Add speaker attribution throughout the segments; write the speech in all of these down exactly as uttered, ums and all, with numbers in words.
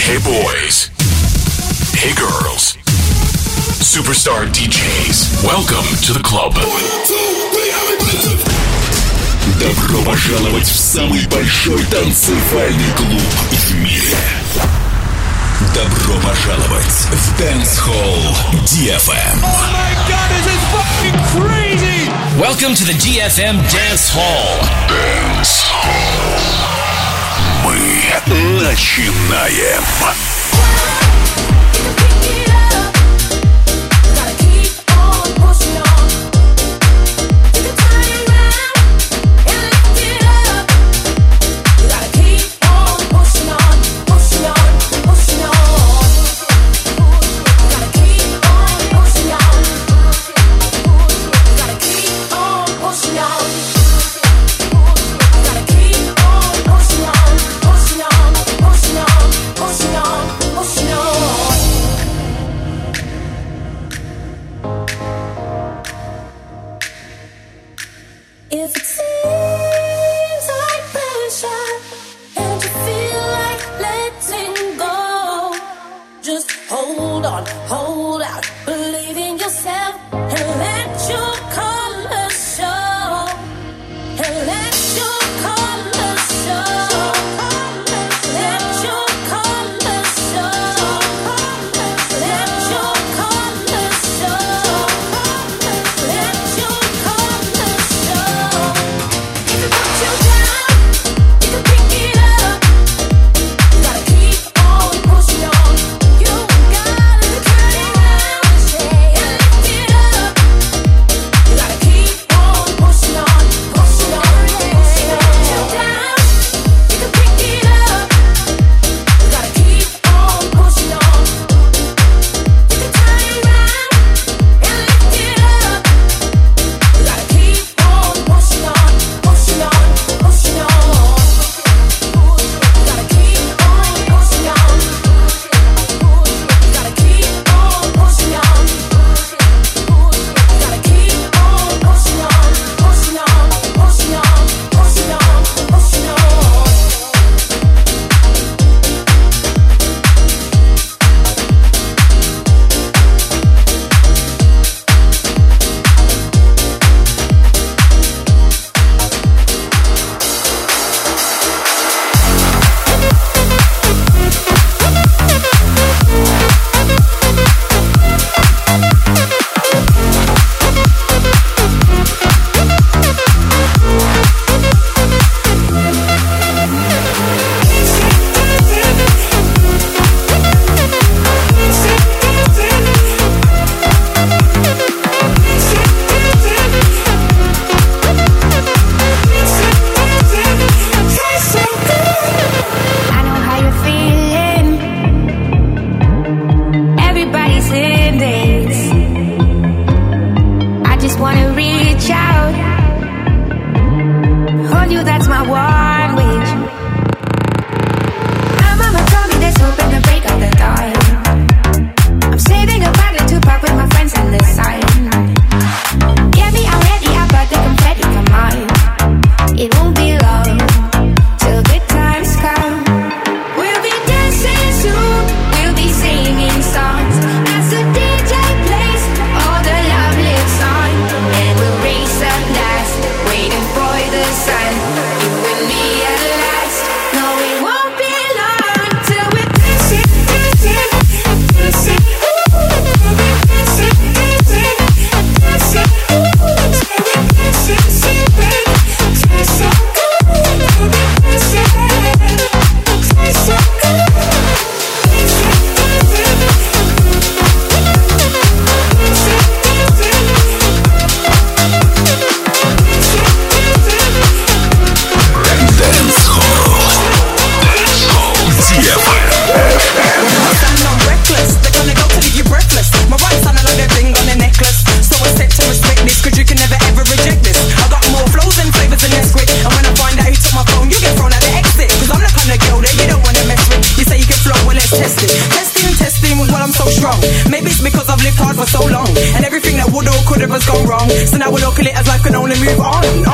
Speaker 1: Hey boys. Hey girls. Superstar ди джейс. Welcome to the club. Добро пожаловать в самый большой танцевальный клуб в мире. Добро пожаловать в Dance Hall ди эф эм.
Speaker 2: Oh my god, this is fucking crazy!
Speaker 3: Welcome to the ди эф эм Dance Hall.
Speaker 1: Dance Hall. Мы начинаем.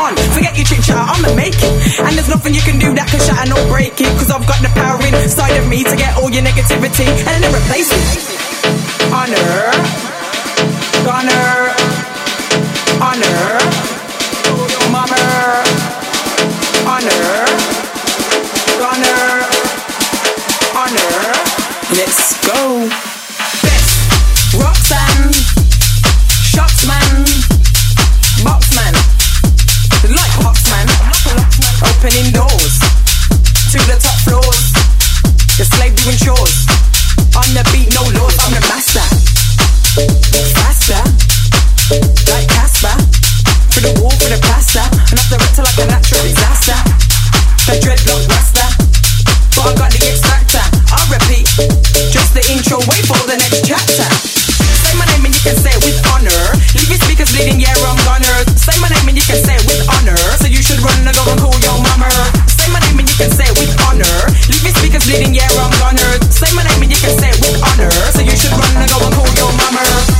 Speaker 4: And there's nothing you can do that can shatter nor break it, cause I've got the power inside of me. me to get all your negativity and then replace it. Honor, honor, honor, mama, honor, honor, honor. Let's go. Best Roxanne, Shotsman, Boxman, like Boxman, opening doors to the top floors. The slave doing chores. On the beat, no laws, I'm the master. Faster, like Casper. For the wall, for the plaster. And off the rector like a natural disaster. The dreadlock rasta. But I got the extractor. I'll repeat, just the intro, wait for the next chapter. Say my name and you can say it with honor. Leave your speakers bleeding, yeah, I'm gonna. Say my name and you can say it with honor. So you should run and go and call your mama. Say my name and you can say it with honor. Leave your speakers bleeding, yeah, I'm gonna. Say my name and you can say it with honor. So you should run and go and call your mama.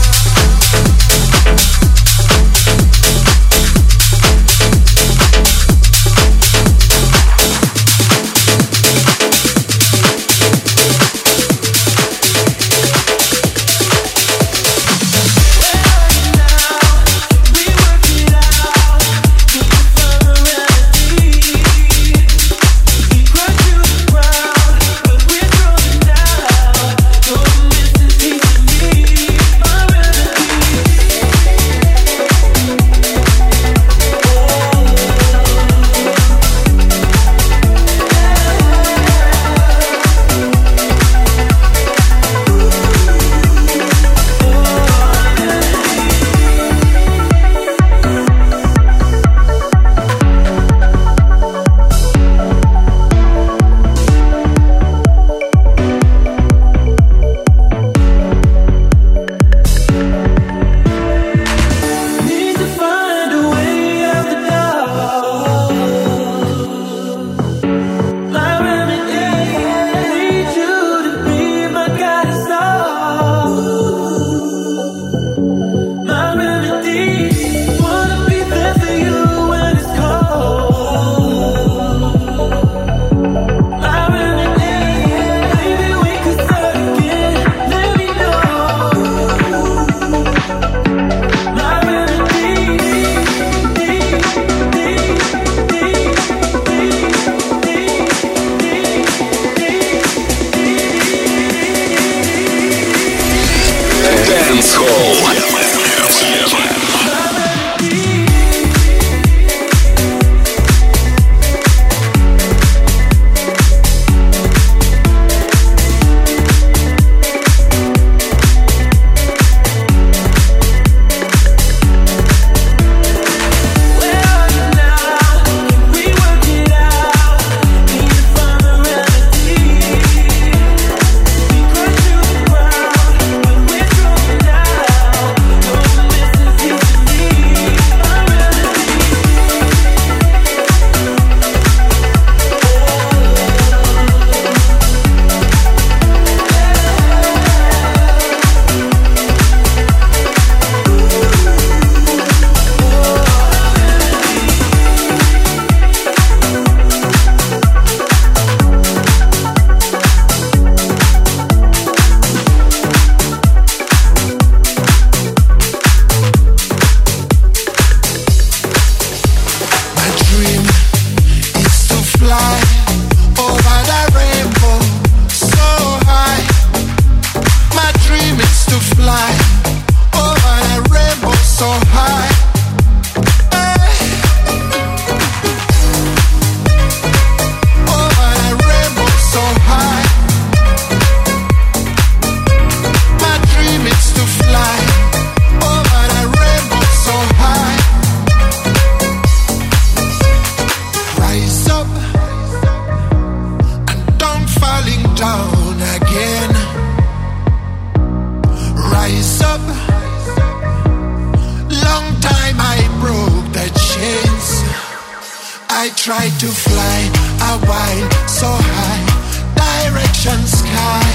Speaker 5: I tried to fly a while so high, direction sky.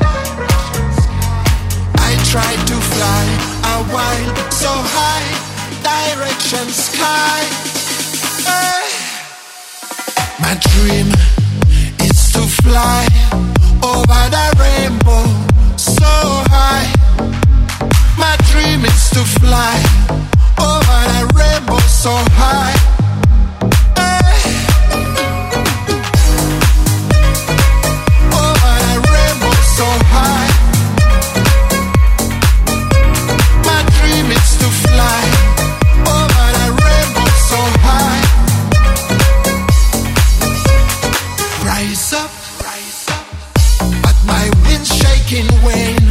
Speaker 5: I tried to fly a while so high, direction sky. Hey. My dream is to fly over rise up, rise up. But my wind's shaking wane.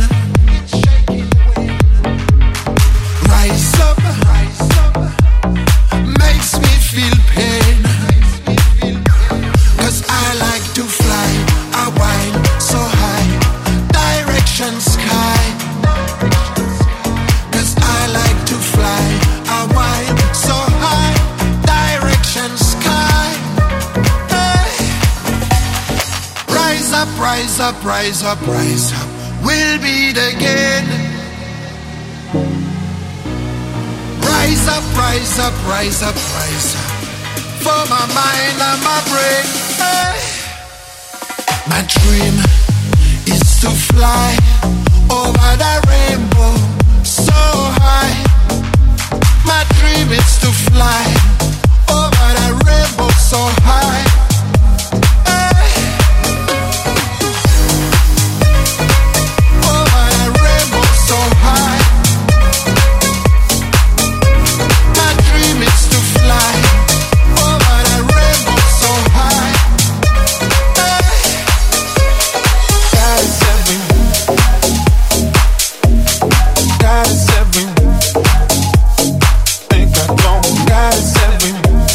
Speaker 5: Rise up, rise up. Makes me feel pain. Cause I like to fly a while so high, direction sky. Cause I like to fly a while so high, direction sky. Hey. Rise up, rise up, rise up, rise up. We'll meet again. Rise up, rise up, rise up, rise up. For my mind and my brain. Hey. My dream is to fly over the rainbow so high. My dream is to fly over the rainbow so high. Hey. Over the rainbow so high. My dream is to fly over the rainbow so high. Hey. God is everywhere. God is everywhere. Think I don't. God is everywhere.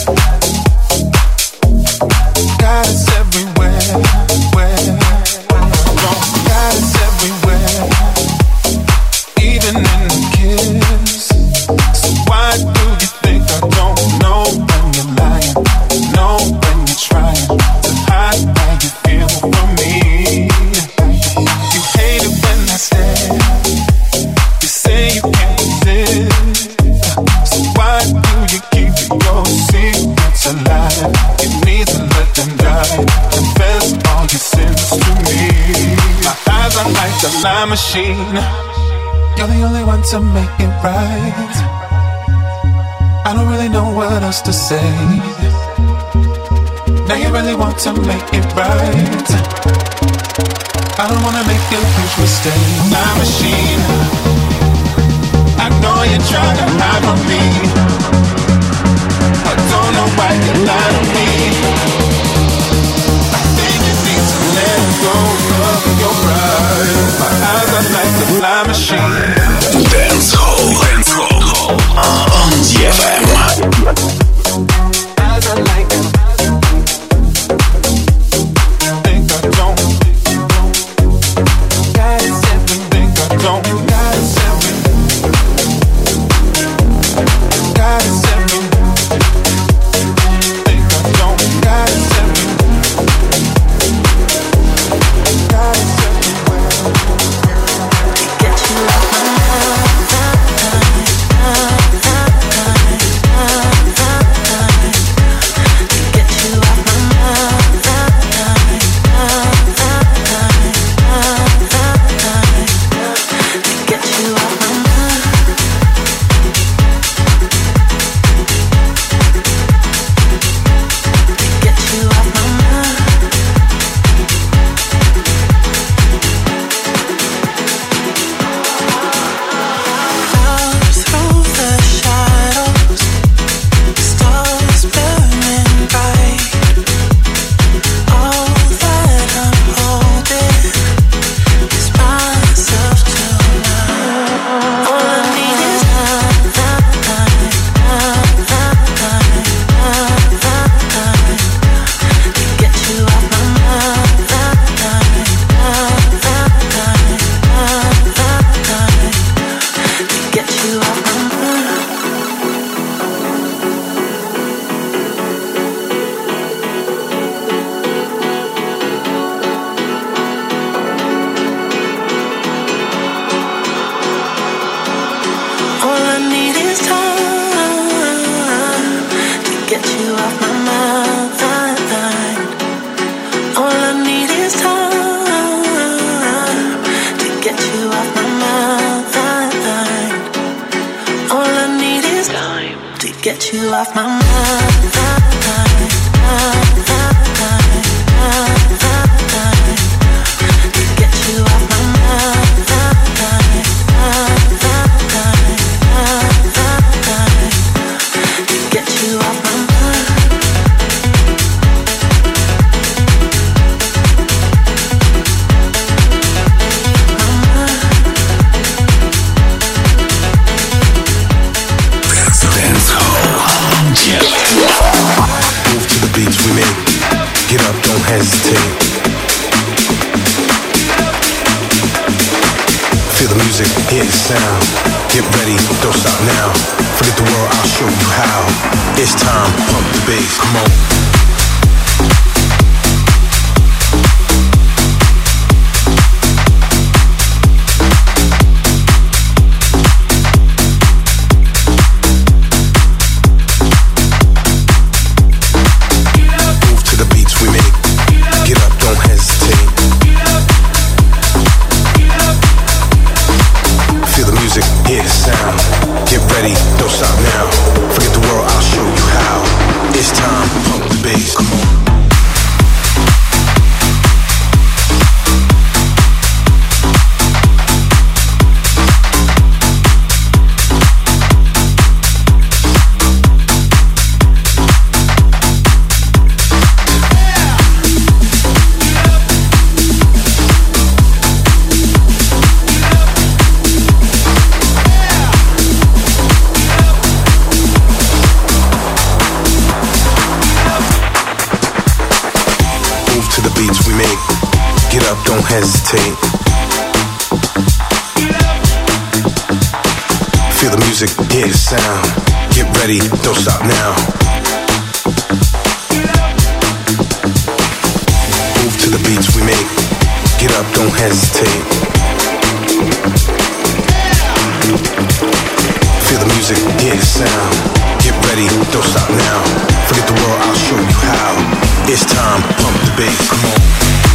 Speaker 5: God is everywhere. Where? Don't. God is everywhere. Even in the kiss. So why do you think I don't know when you're lying? Know when you're trying to hide how you feel from me. You hate it when I stare. You say you can't resist. So why do you keep your secrets alive? You need to let them die. Confess all your sins to me. My eyes are like a lie machine. You're the only one to make it right. I don't really know what else to say. Now you really want to make it right. I don't wanna make a huge mistake. My machine, I know you're trying to hide from me. I don't know why you lie to me. I think you need to let go of your pride. My eyes are like a fly machine.
Speaker 1: Dance Hall, Dance Hall on ди эф эм.
Speaker 5: Eyes are like a think I don't. God is everything I don't. God is everything. God is everything. Think I don't. God is everything. God is everywhere. Get you out my get you off my mind. Get you off my mind.
Speaker 6: hesitate. Feel the music, hear the sound. Get ready, don't stop now. Forget the world, I'll show you how. It's time, pump the bass, come on. Hear the sound. Get ready, don't stop now. Forget the world, I'll show you how. It's time, pump the bass, come on. Don't hesitate. Feel the music, hear the sound. Get ready, don't stop now. Move to the beats we make. Get up, don't hesitate. Feel the music, hear the sound. Get ready, don't stop now. Forget the world, I'll show you how. It's time, pump the bass, come on.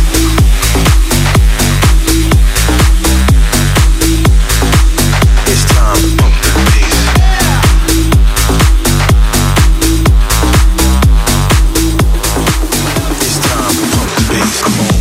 Speaker 6: It's time to pump the bass. It's time to pump the bass, come on.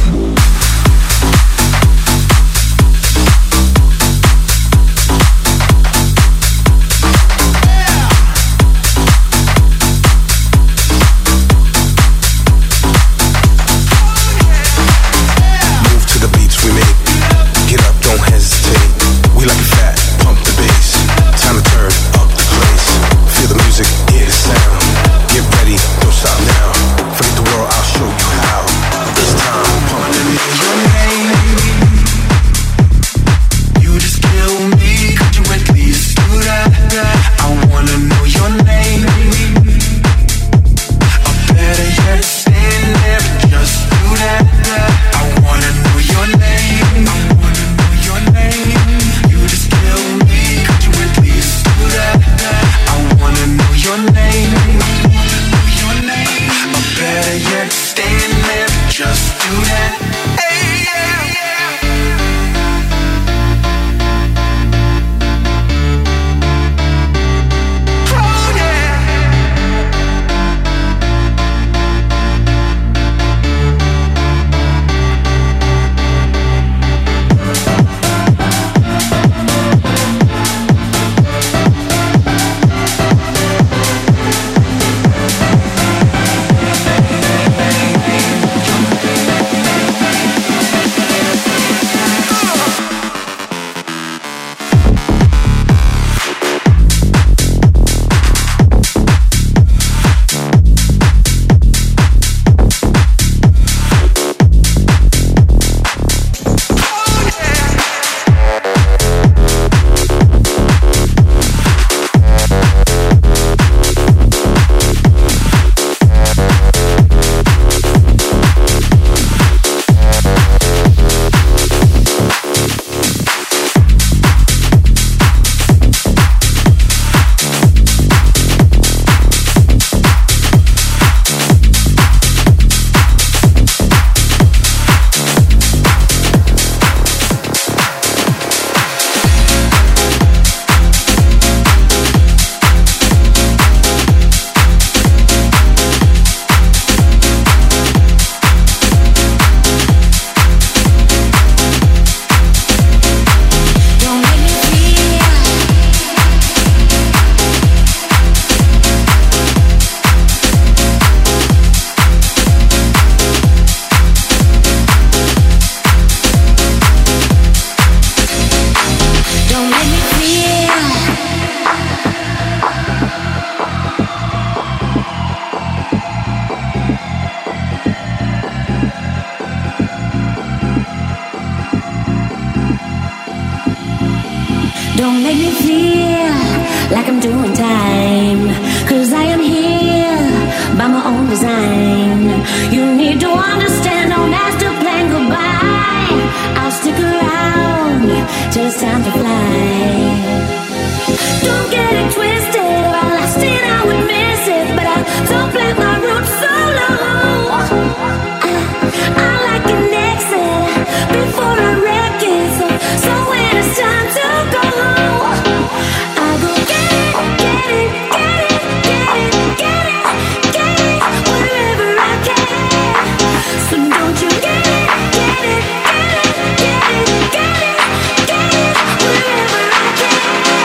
Speaker 7: Don't make me feel like I'm doing time, 'cause I am here by my own design. You need to understand, don't have to plan goodbye. I'll stick around till it's time to fly. Don't get it twisted, if I lost it I would miss it, but I don't plant my roots so low. I, I like an exit before I wreck it, so, so when it's time to go, I go get it, get it, get it, get it, get it, get it, wherever I can. So don't you get it, get it, get it, get it, get it, get it, wherever I can.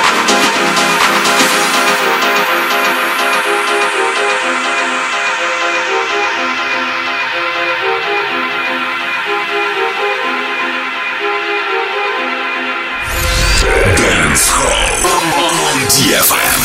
Speaker 1: Dance Hall on ди эф эм.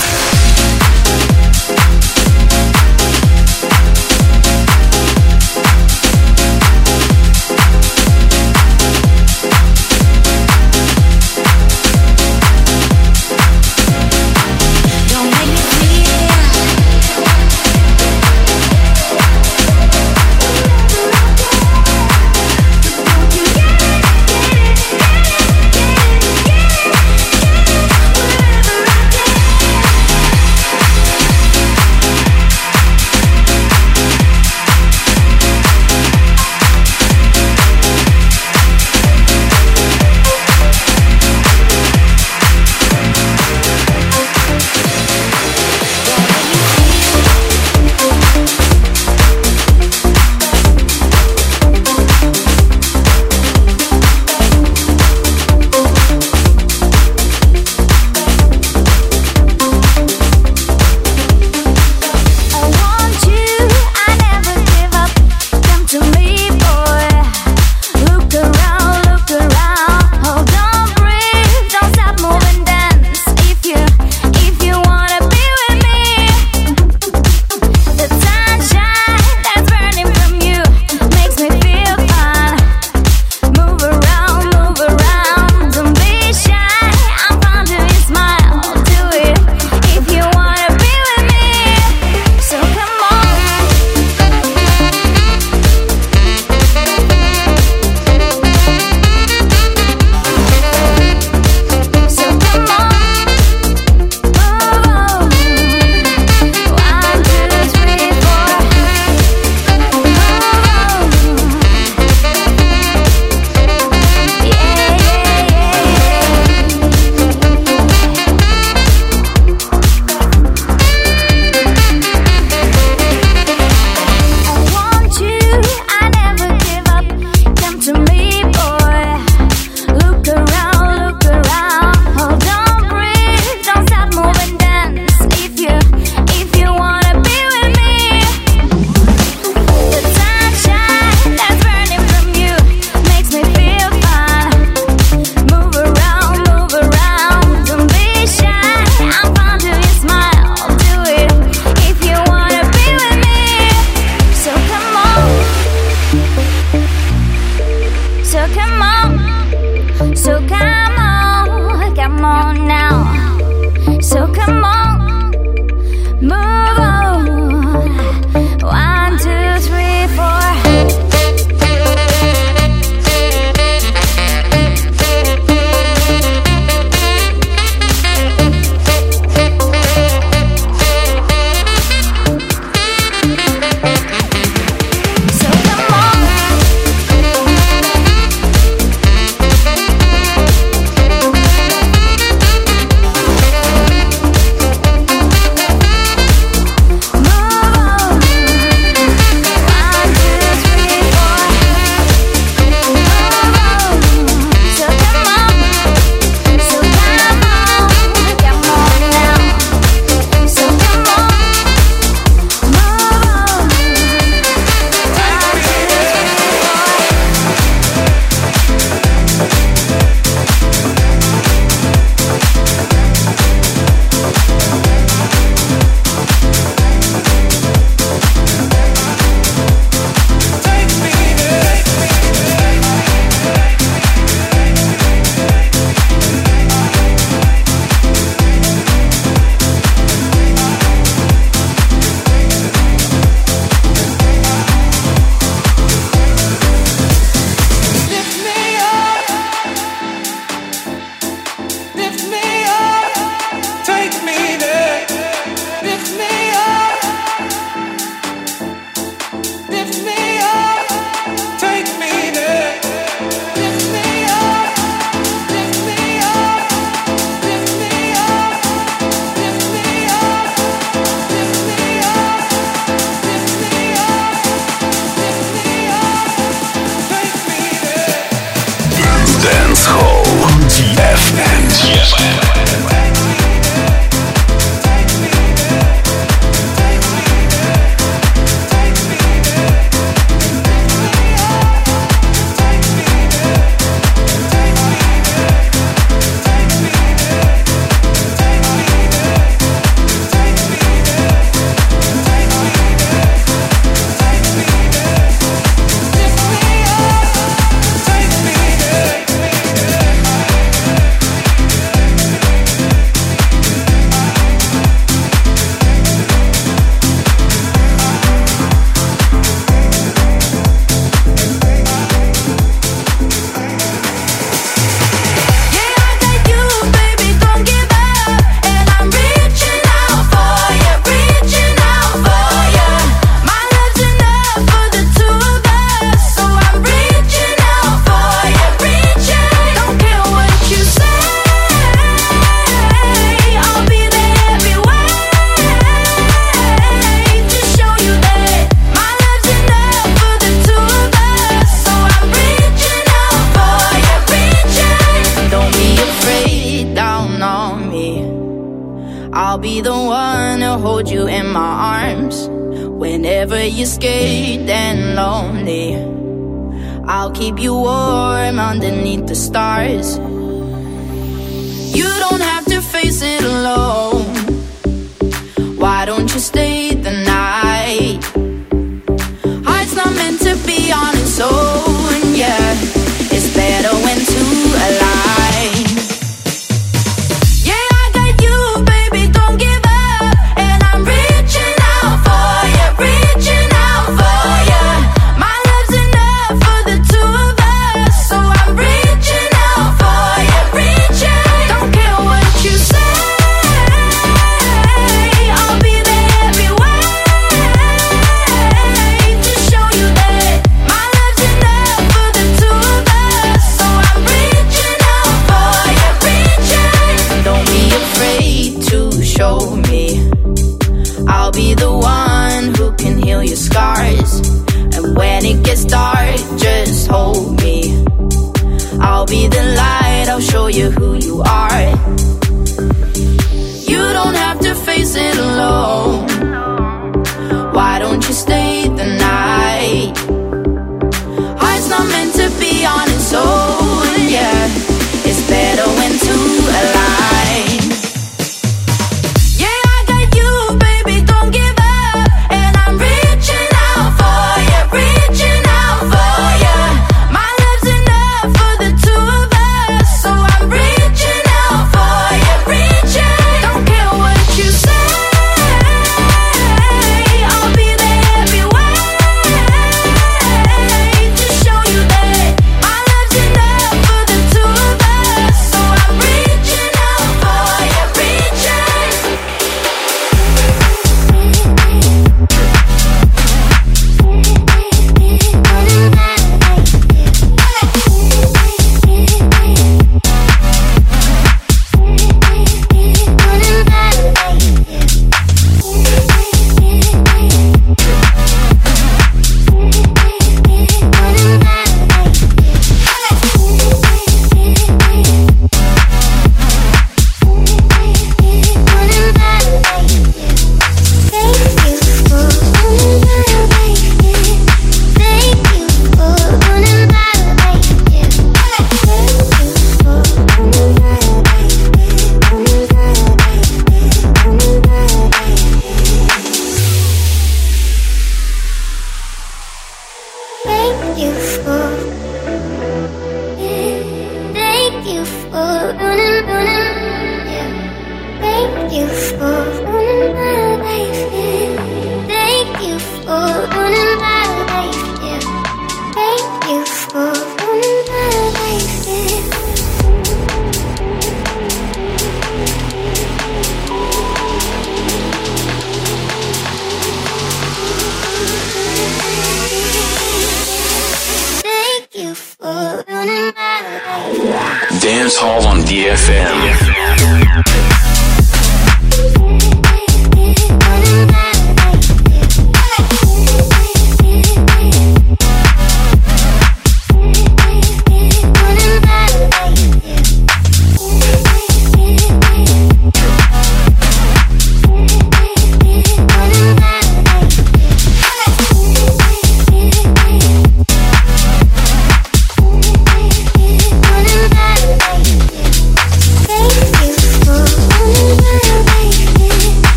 Speaker 1: Dance Hall on D F M.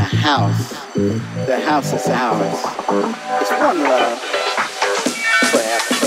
Speaker 8: house. The house is ours. It's one love. Forever.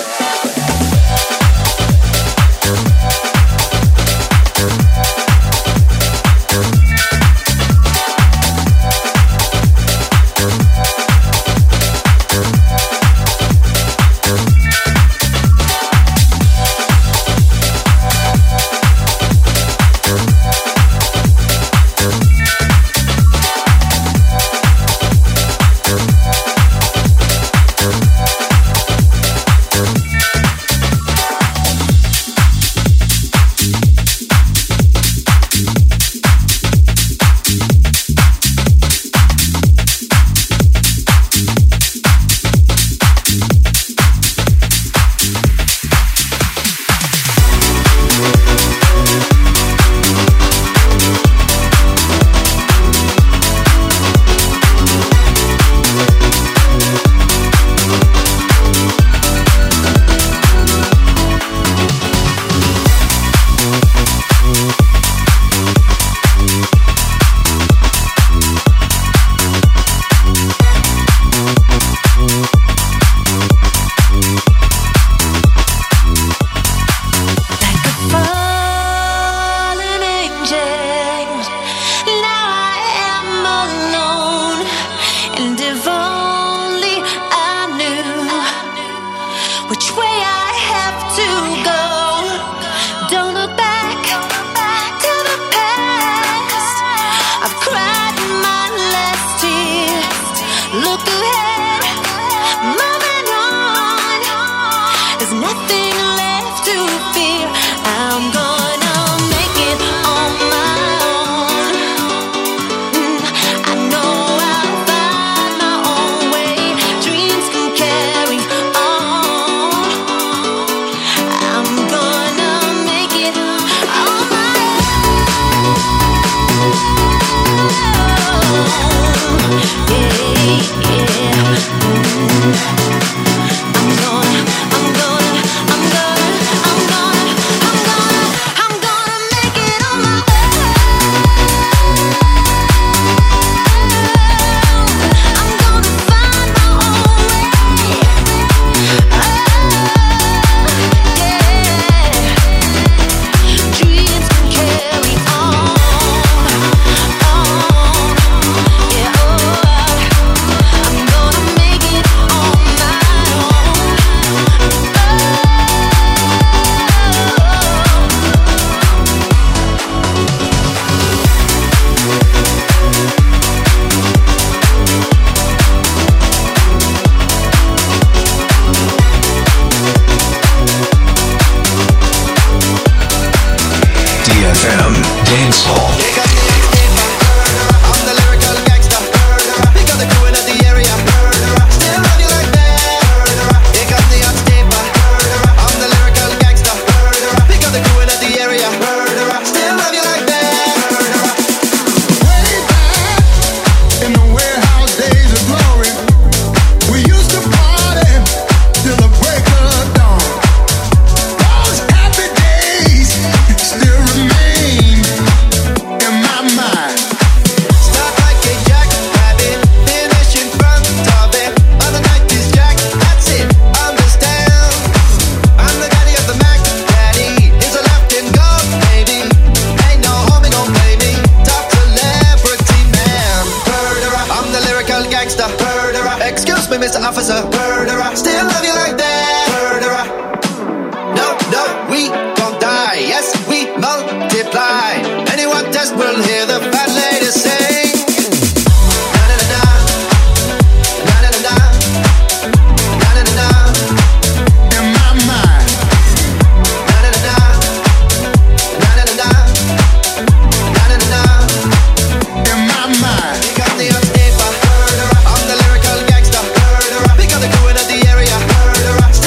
Speaker 9: Pick up the crew in the area.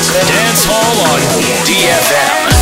Speaker 3: Dance Hall on D F M.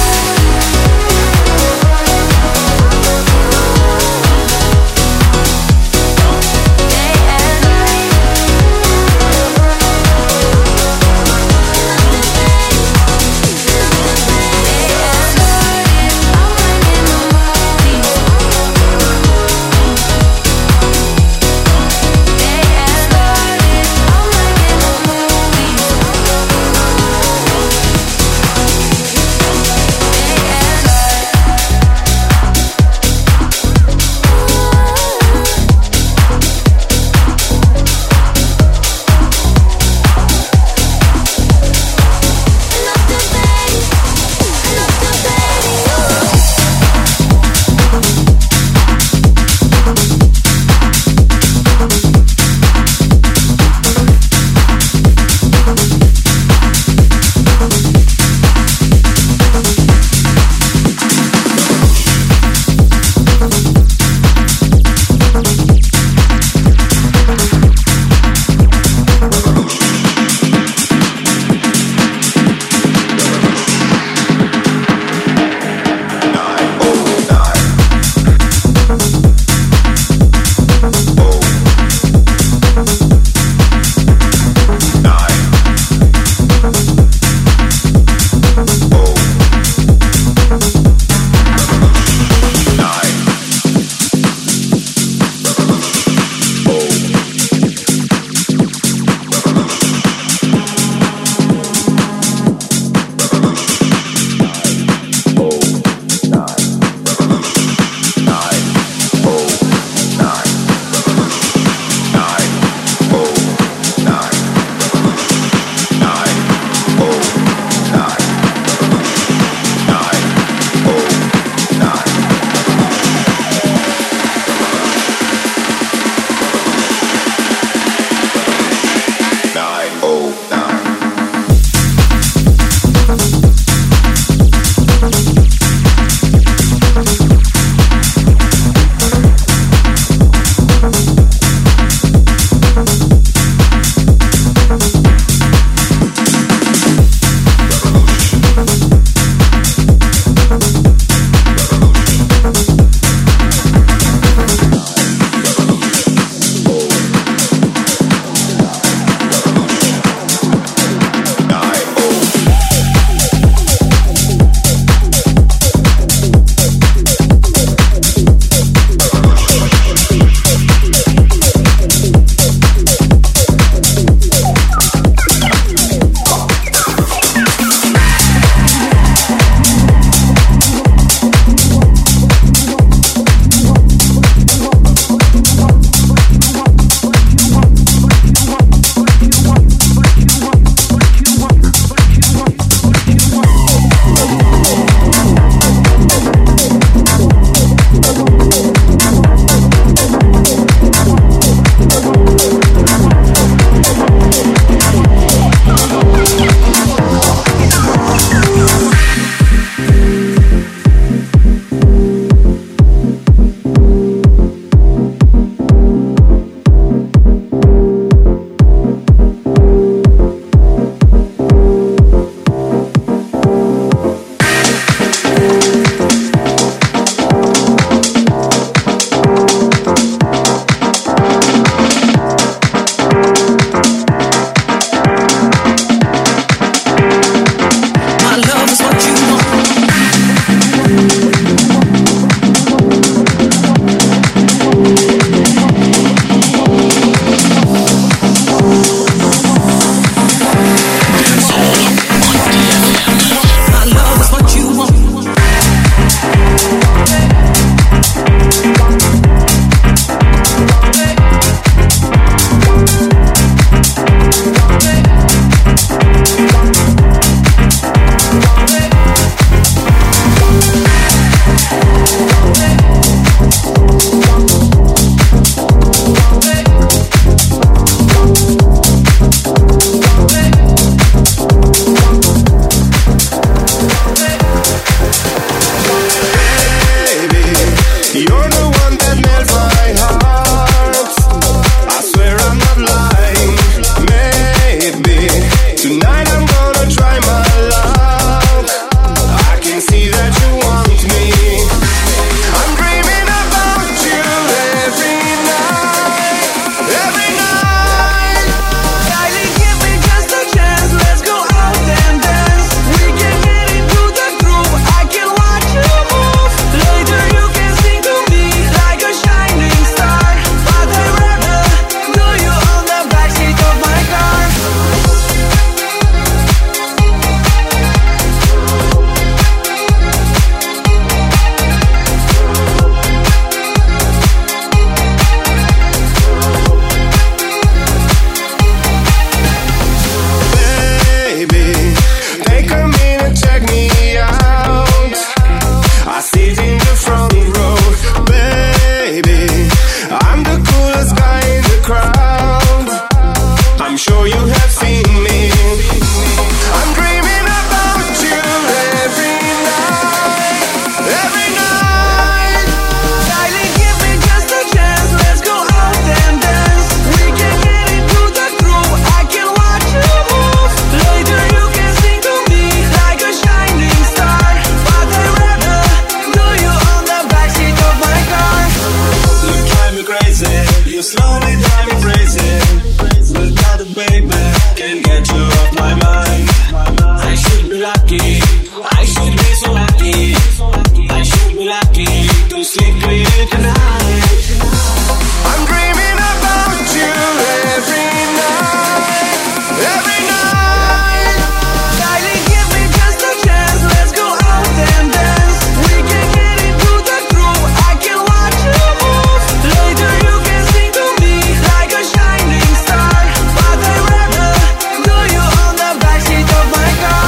Speaker 9: can get you off my mind. I should be lucky, I should be so lucky. I should be lucky to sleep with you tonight. I'm dreaming about you every night, every night. Darling, give me just a chance, let's go out and dance. We can get into the groove, I can watch you move. Later you can sing to me like a shining star, but I'd rather do you on the backseat of my car.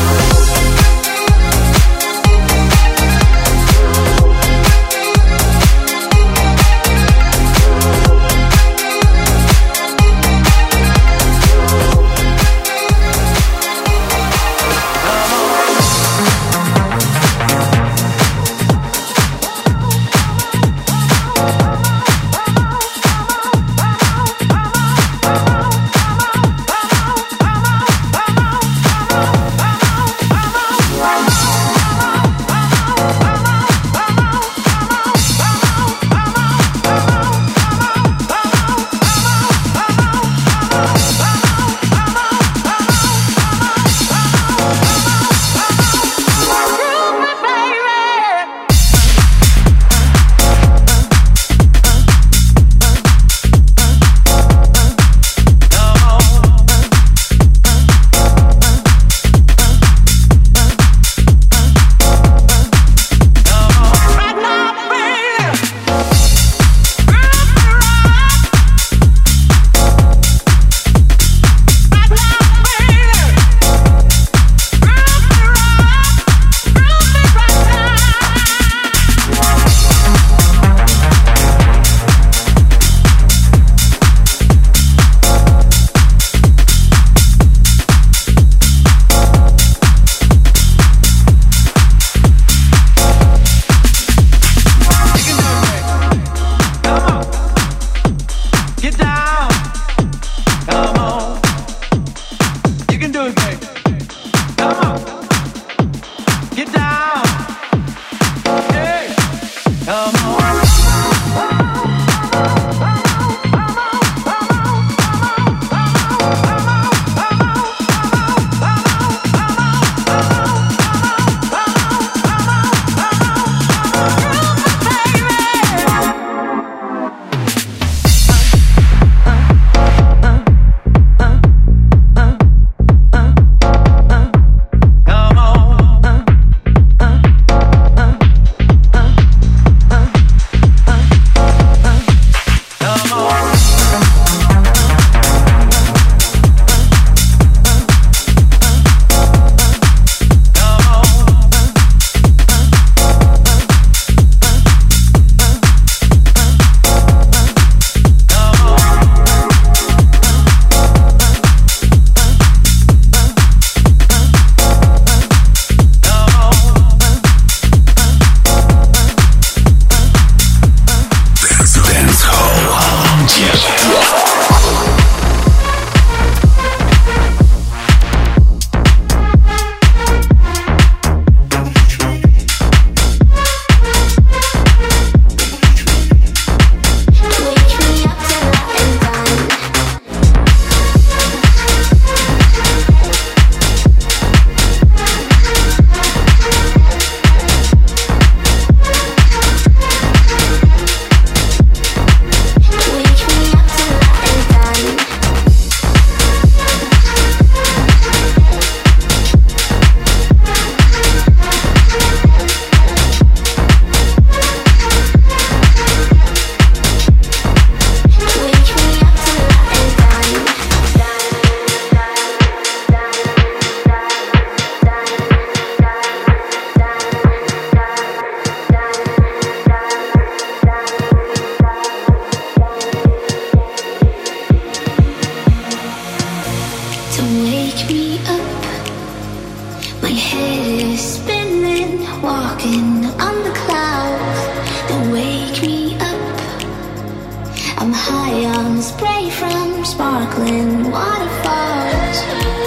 Speaker 7: spray from sparkling waterfalls.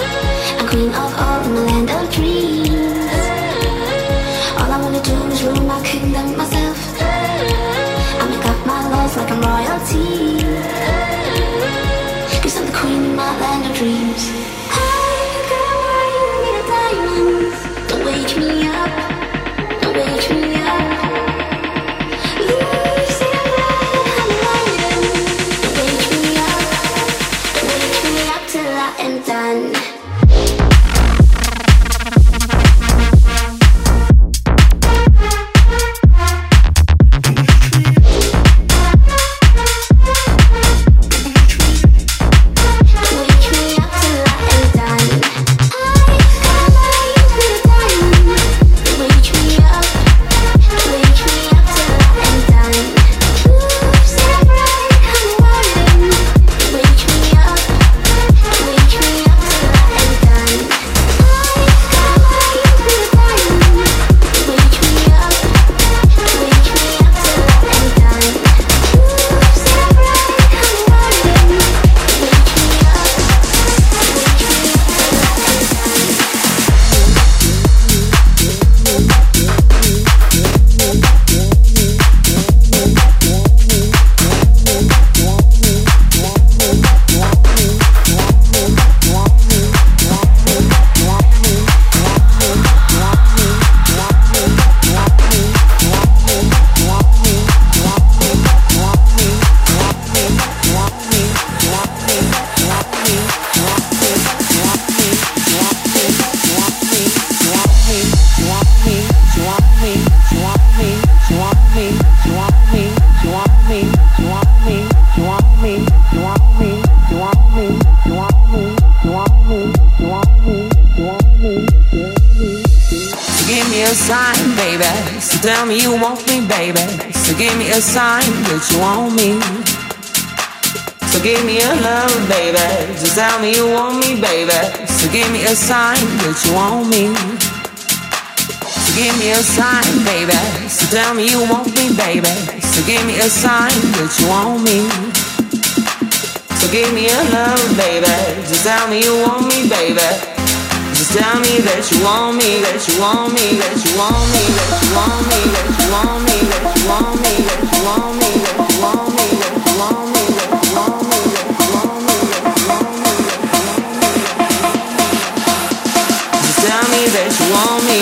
Speaker 7: I'm queen of all in the land of dreams. All I wanna do is rule my kingdom myself. I make up my laws like I'm royalty, 'cause I'm the queen of my land of dreams.
Speaker 4: a sign, baby. So tell me you want me, baby. So give me a sign that you want me. So give me a love, baby. Just tell me you want me, baby. So give me a sign that you want me. So give me a sign, baby. So tell me you want me, baby. So give me a sign that you want me. So give me a love, baby. Just tell me you want me, baby. Just tell me that you want me, that you want me, that you want me, that you want me, that you want me, that you want me, that you want me, that you want me, that you want me, that you want me, that you want me, that you want me, that you want me. Just tell me that you want me.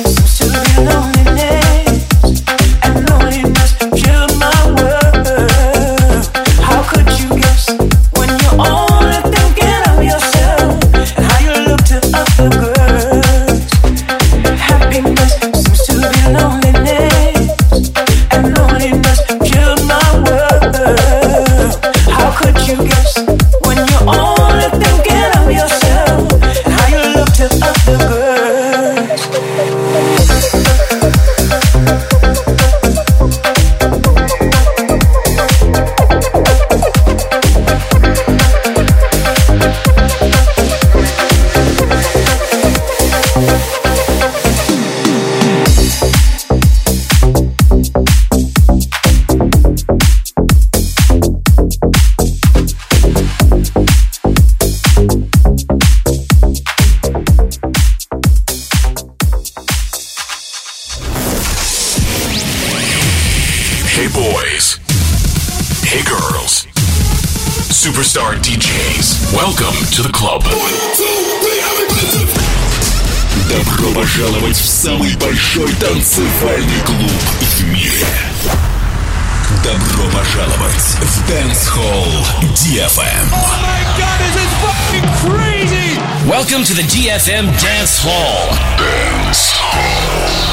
Speaker 10: Loneliness killed my world.
Speaker 1: Hey boys. Hey girls. Superstar ди джейс. Welcome to the club. Добро пожаловать в самый большой танцевальный клуб в мире. Добро пожаловать в Dance Hall ди эф эм.
Speaker 2: Oh my god, this is fucking crazy!
Speaker 3: Welcome to the ди эф эм Dance Hall.
Speaker 1: Dance Hall.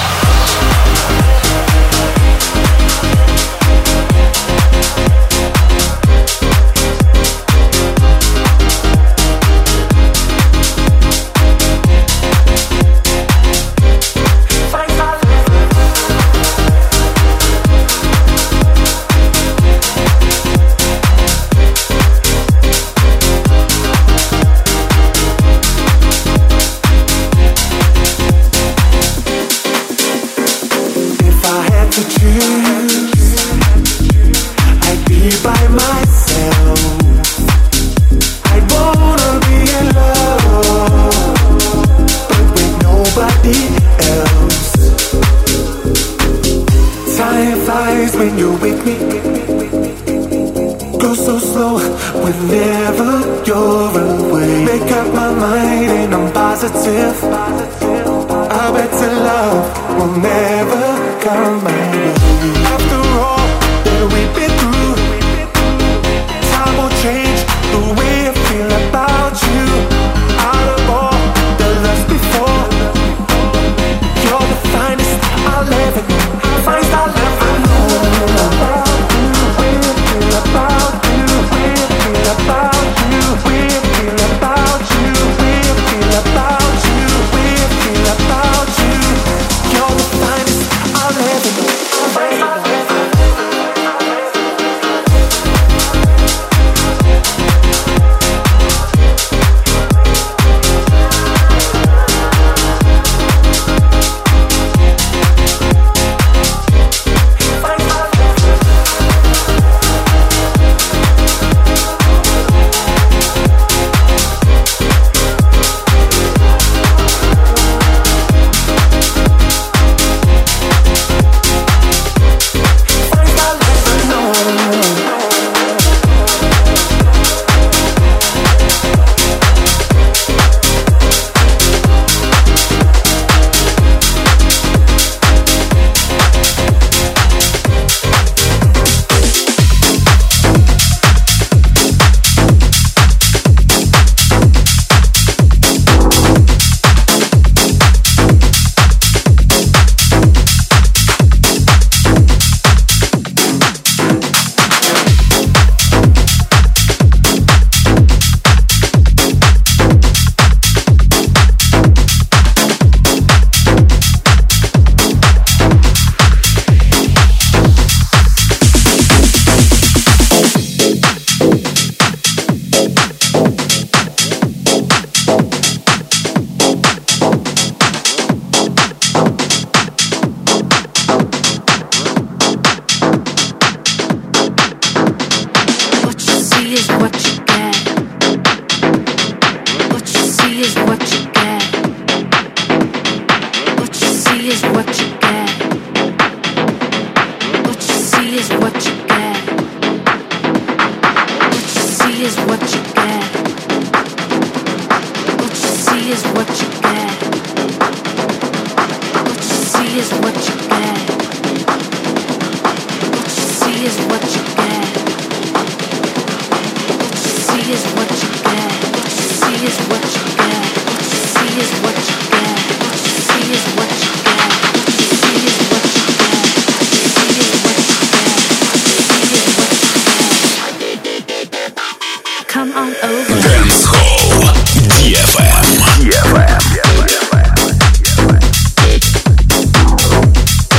Speaker 1: Dance Hall ди эф эм. ди эф эм.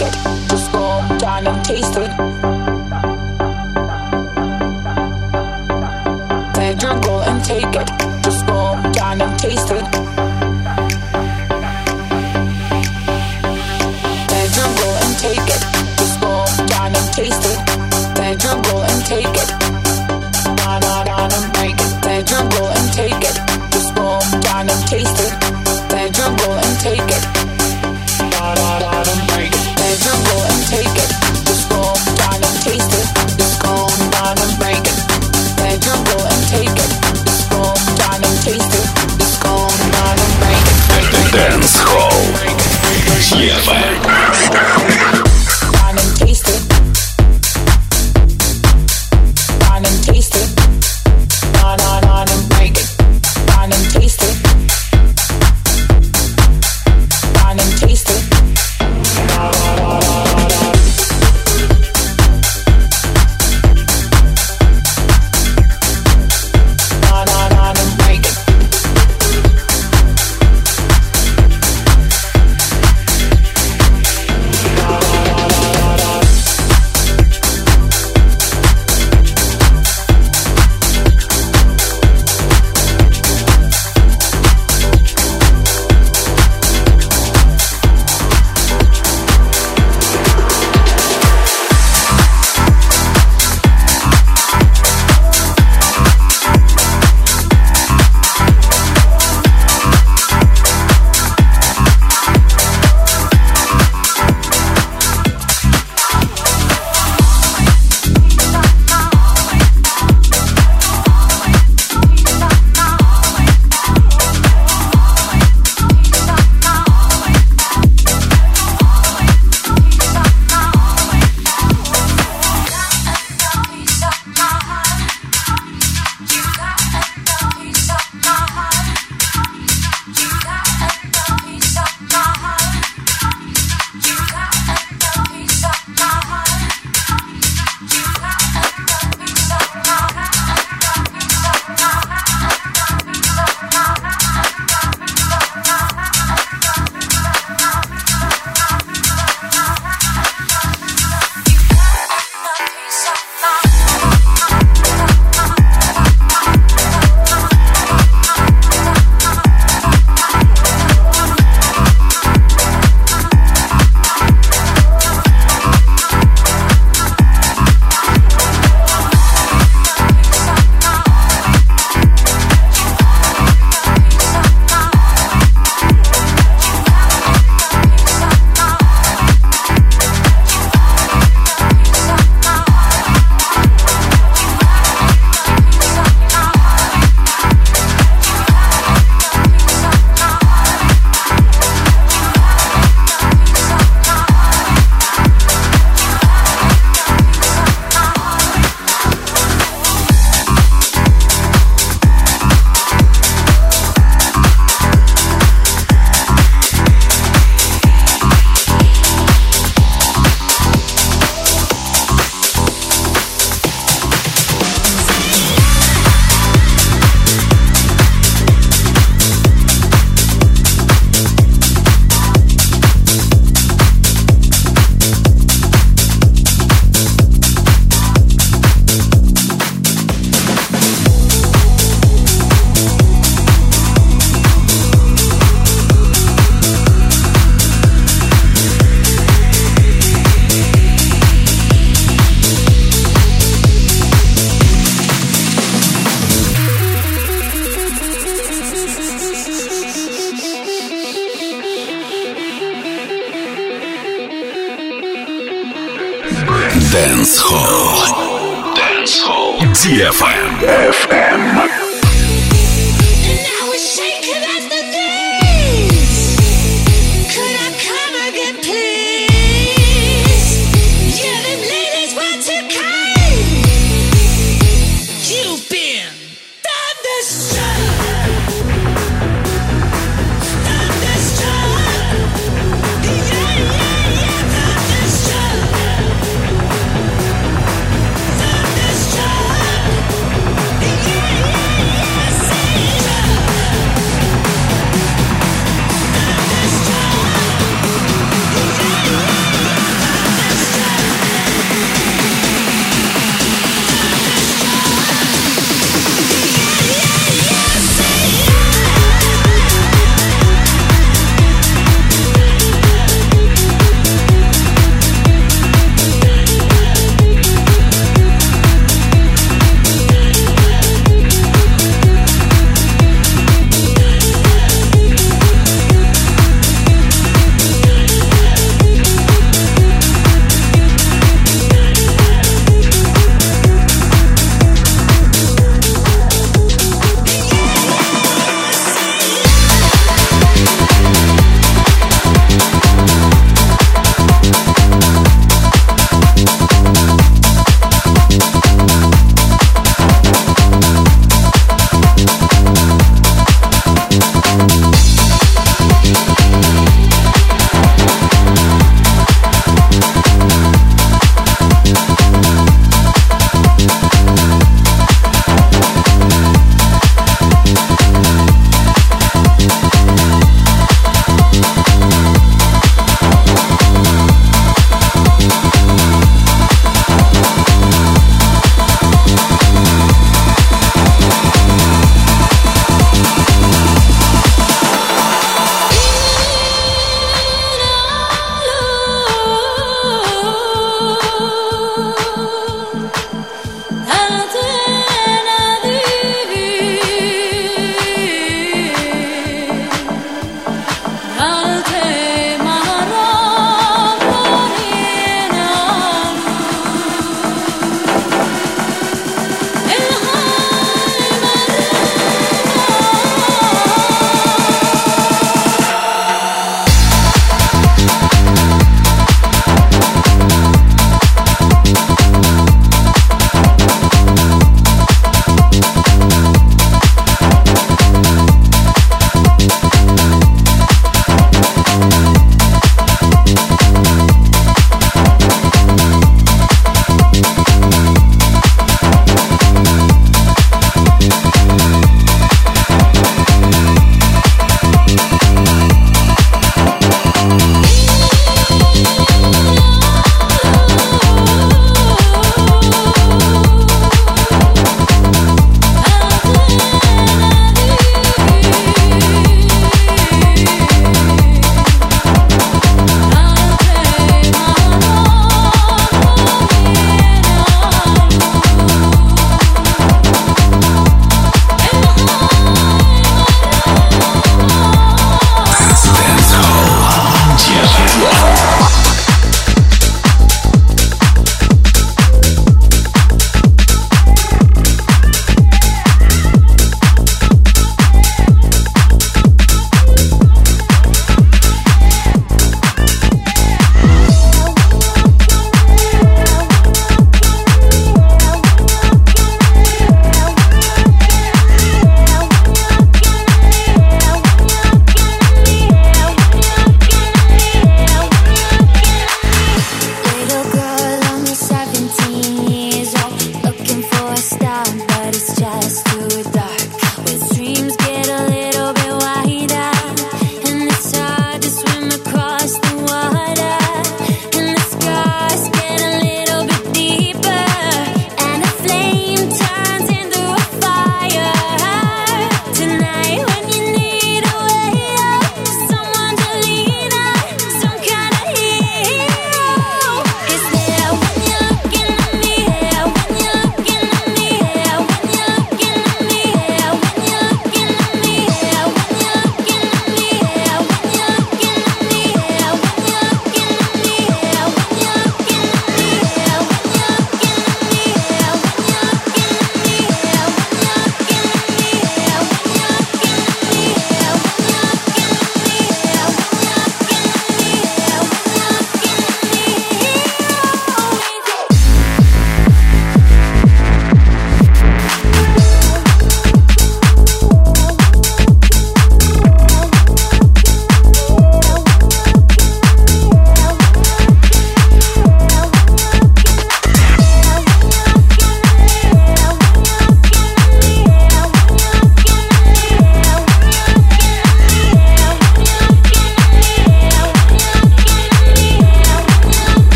Speaker 4: it. Just go down and taste it. Sandra, go and take it. Just go down and taste it. Sandra, go and take it. Just go down and taste it. Sandra, go and take it. Down, down, down and break it. Sandra, go and take it. Just go down and taste it. Sandra, go and take it. Down, down, down and break it. Sandra, go and take it. Just go down and taste it. Just go down and break it. Sandra, go and take it. Just go down and taste it. Just go down and break it.
Speaker 1: Dance Hall. ди эф эм.
Speaker 4: Down and taste it. Down and taste it. Down, down, down and break it. Down and taste it. Down and taste it. Down, down, down, down, down. Down, down, down and break it.
Speaker 1: Dance Hall. Dance Hall. ди эф эм. эф эм.
Speaker 10: Yeah.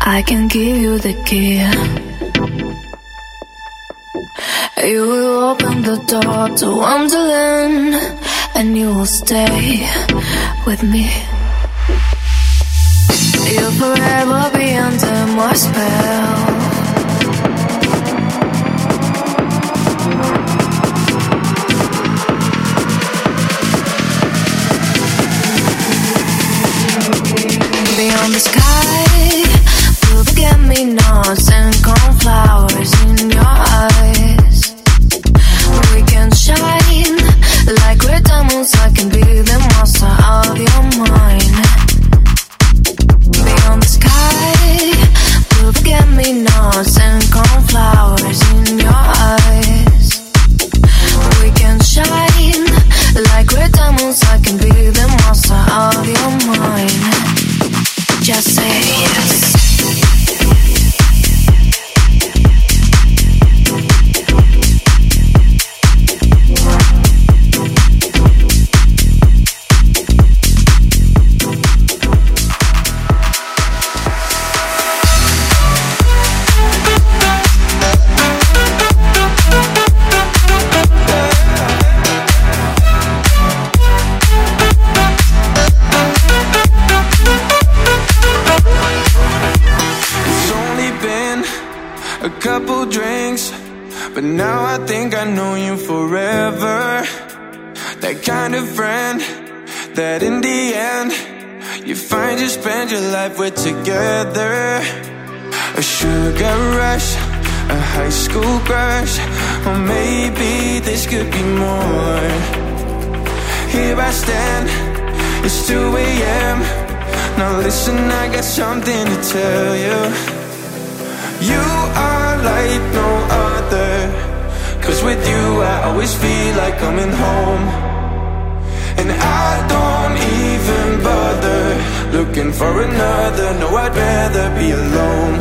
Speaker 10: I can give you the key. You will open the door to Wonderland, and you will stay with me. You'll forever be under my spell. Beyond the sky, will forget-me-nots and cornflowers in your eyes. We can shine like red diamonds. I can be the monster of your mind. Beyond the sky, will forget-me-nots and cornflowers in your eyes. We can shine like red diamonds. I can be the monster of your mind. Just say yes.
Speaker 5: But now I think I know you forever. That kind of friend that in the end you find you spend your life with together. A sugar rush, a high school crush, or maybe this could be more. Here I stand, it's two a.m. Now listen, I got something to tell you. You are like no other, 'cause with you I always feel like coming home. And I don't even bother looking for another. No, I'd rather be alone.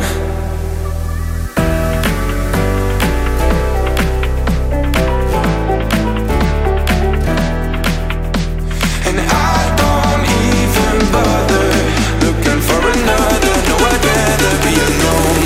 Speaker 5: And I don't even bother looking for another. No, I'd rather be alone.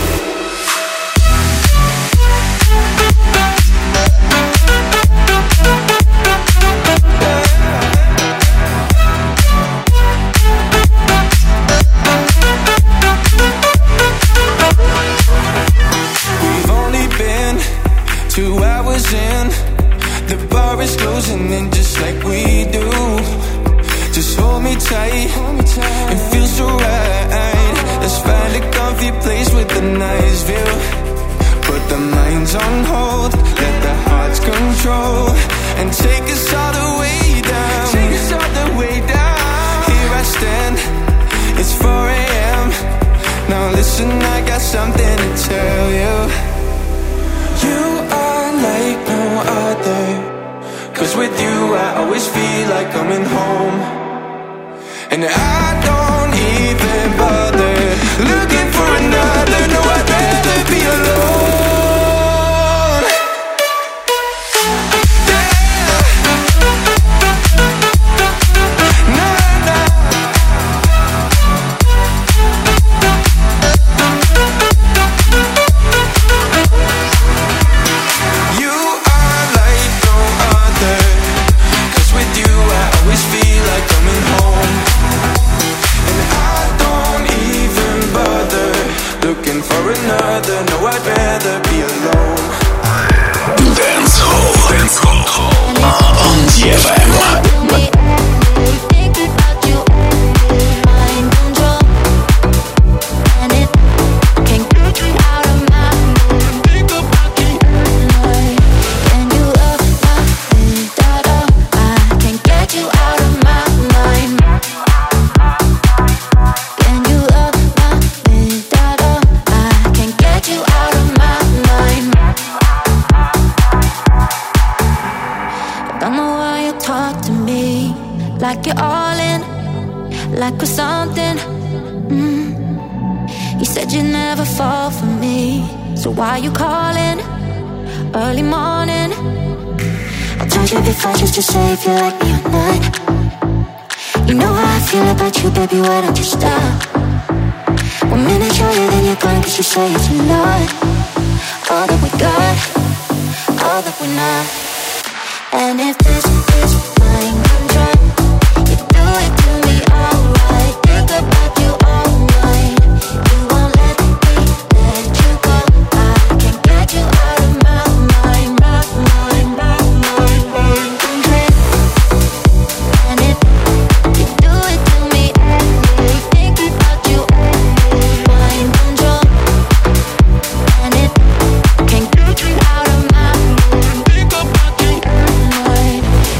Speaker 5: Two hours in, the bar is closing in just like we do. Just hold me tight, it feels so right. Let's find a comfy place with a nice view. Put the minds on hold, let the hearts control, and take us all the way down. Take us all the way down. Here I stand, it's four a.m. Now listen, I got something to tell you. You are like no other, 'cause with you I always feel like coming home. And I don't even bother looking for another. No, I'd rather be alone. Another, no, I'd rather be alone.
Speaker 1: Dance Hall, Dance Hall on D F M.
Speaker 10: Like you're all in, like we're something. mm. You said you'd never fall for me, so why you calling early morning? I told you before just to say if you like me or not. You know how I feel about you, baby, why don't you stop? One minute show you, then you're gone, cause you say it's a lot. All that we got, all that we're not. And if this is mind control, you do it to me alright. Think about you all night. You won't let me let you go. I can't get you out of my mind, my mind, my mind, mind control. And if you do it to me every, think about you every, mind control. And if can't get you out of my mind, think about you every.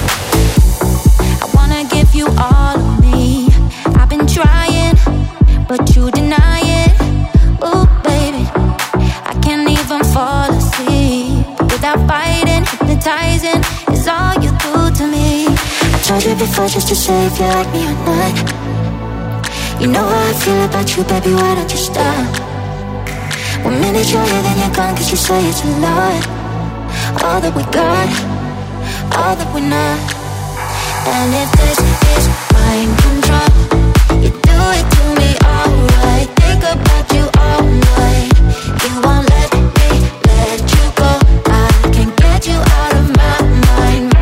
Speaker 10: I wanna give you all of me. I've been trying, but you deny it. Ooh, baby, I can't even fall asleep without fighting. Hypnotizing is all you do to me. I tried it before just to say if you like me or not. You know how I feel about you, baby, why don't you stop? One minute you're here, then you're gone, cause you say it's a lot. All that we got, all that we're not. And if this is mind control, you do it to me alright. Think about you all night. You won't let me let you go. I can't get you out of my mind.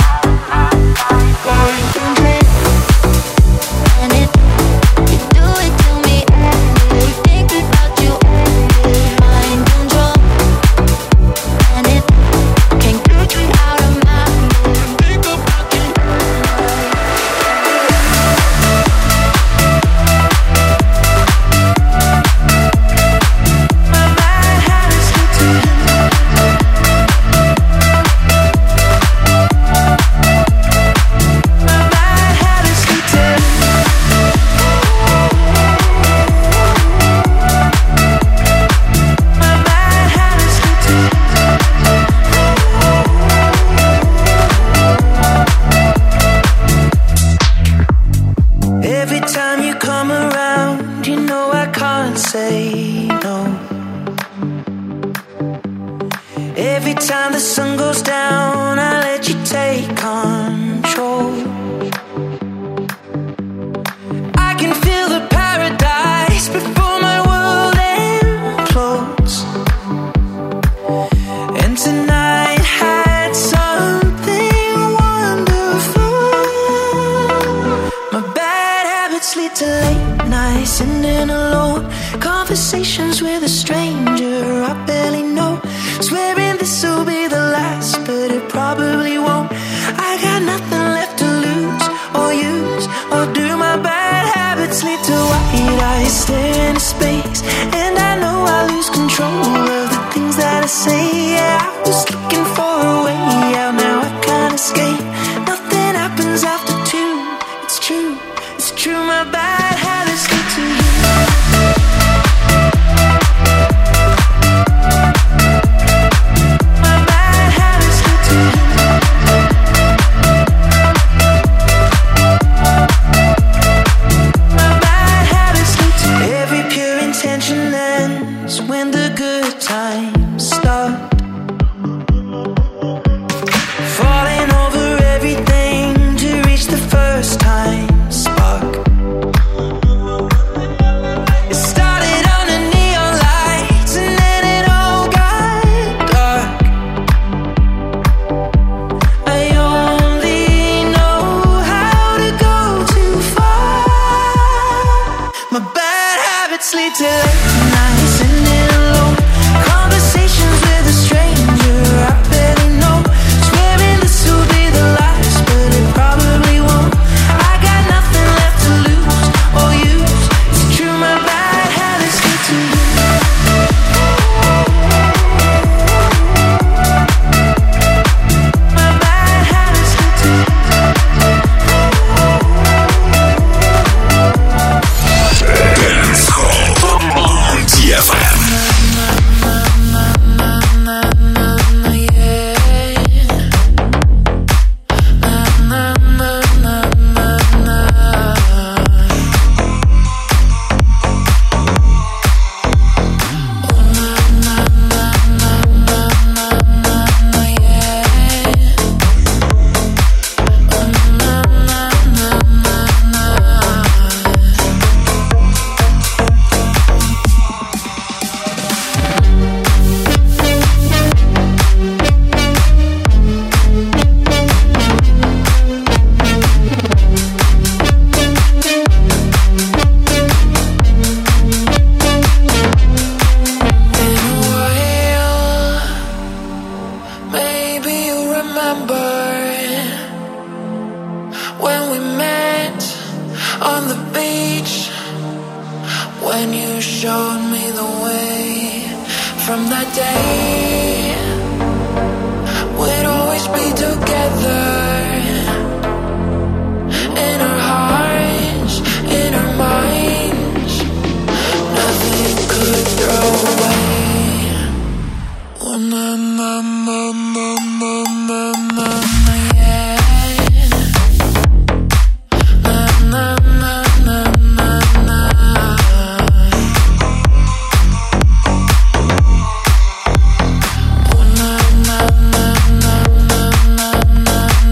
Speaker 10: And if you do it to me every, think about you every, mind control. And if can't get you out of my mind, think about you.
Speaker 11: Every time you come around, you know I can't say no. Every time the sun goes down, I let you take control. I can feel the paradise before my world implodes. And tonight had something wonderful. My bad habits lead to late nights, sitting alone. Conversations with a stranger I barely know. Swearing this'll be the last, but it probably won't. I got nothing left to lose or use or do. My bad habits lead to white eyes staring into space, and I know I lose control of the things that I say. Yeah, I was looking for a way out, now I can't escape. Nothing happens after two. It's true, it's true. My bad habits lead to you. When the good times start, falling over everything to reach the first time spark. It started under neon lights and then it all got dark. I only know how to go too far. My bad habits lead to late nights and conversations with a stranger I barely know. Swearing this will be the last, but it probably won't. I got nothing left to lose or use. It's true, my bad habits lead to you. My bad habits lead to you.
Speaker 1: Dance Hall on
Speaker 10: me the way from that day. We'd always be together in our hearts, in our minds. Nothing could throw away. Oh, na na na na na na na na yeah. Na na na na na na. Oh, na na na na na na na.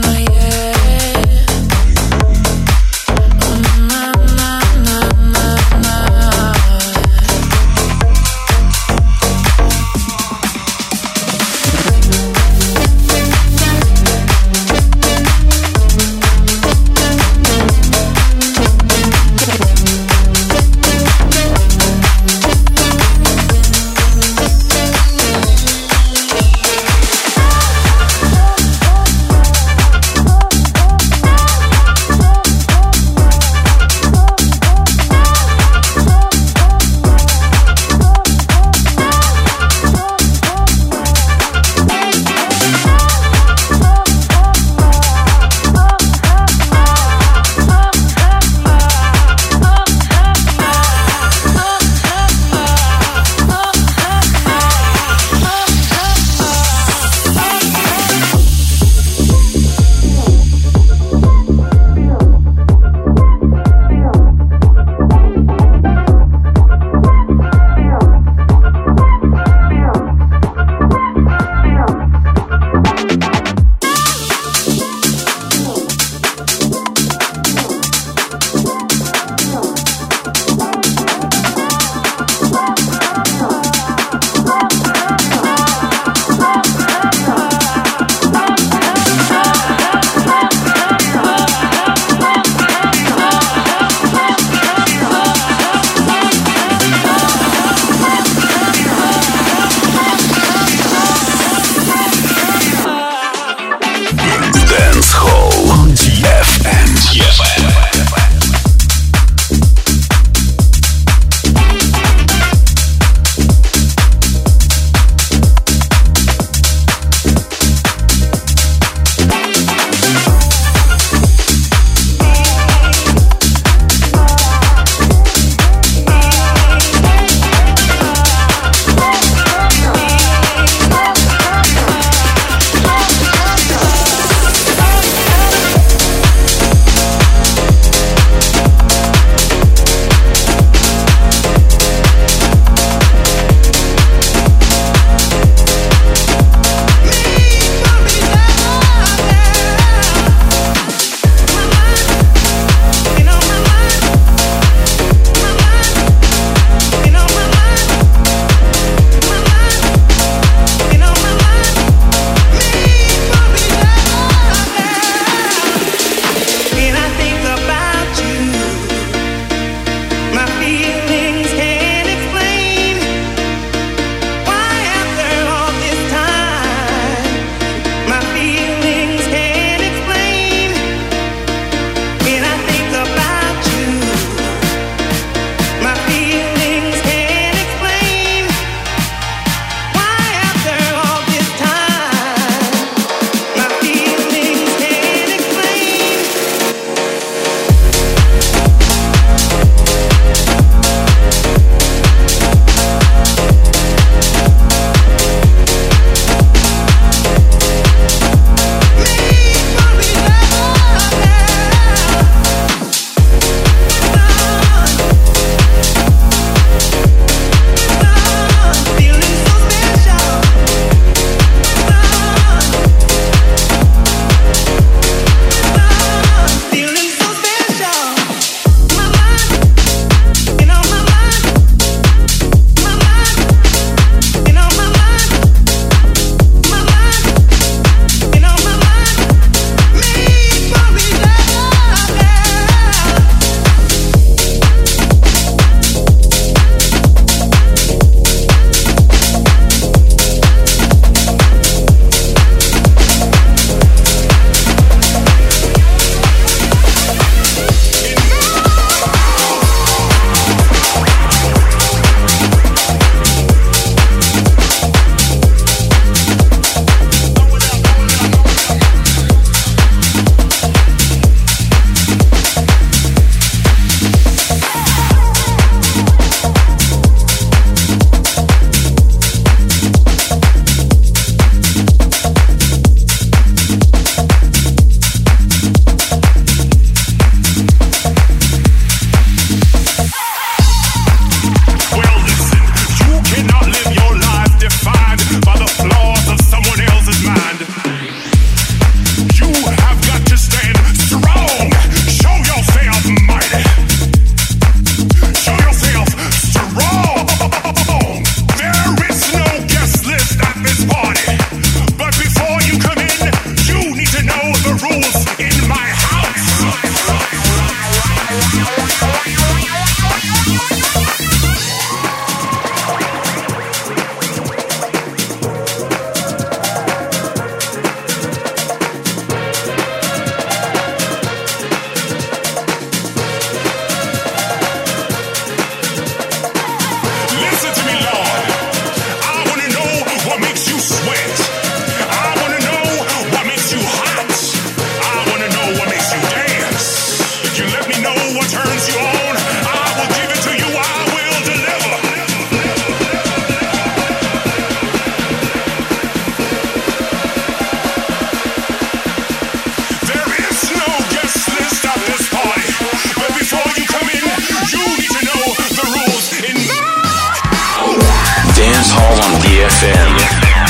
Speaker 1: эф эм.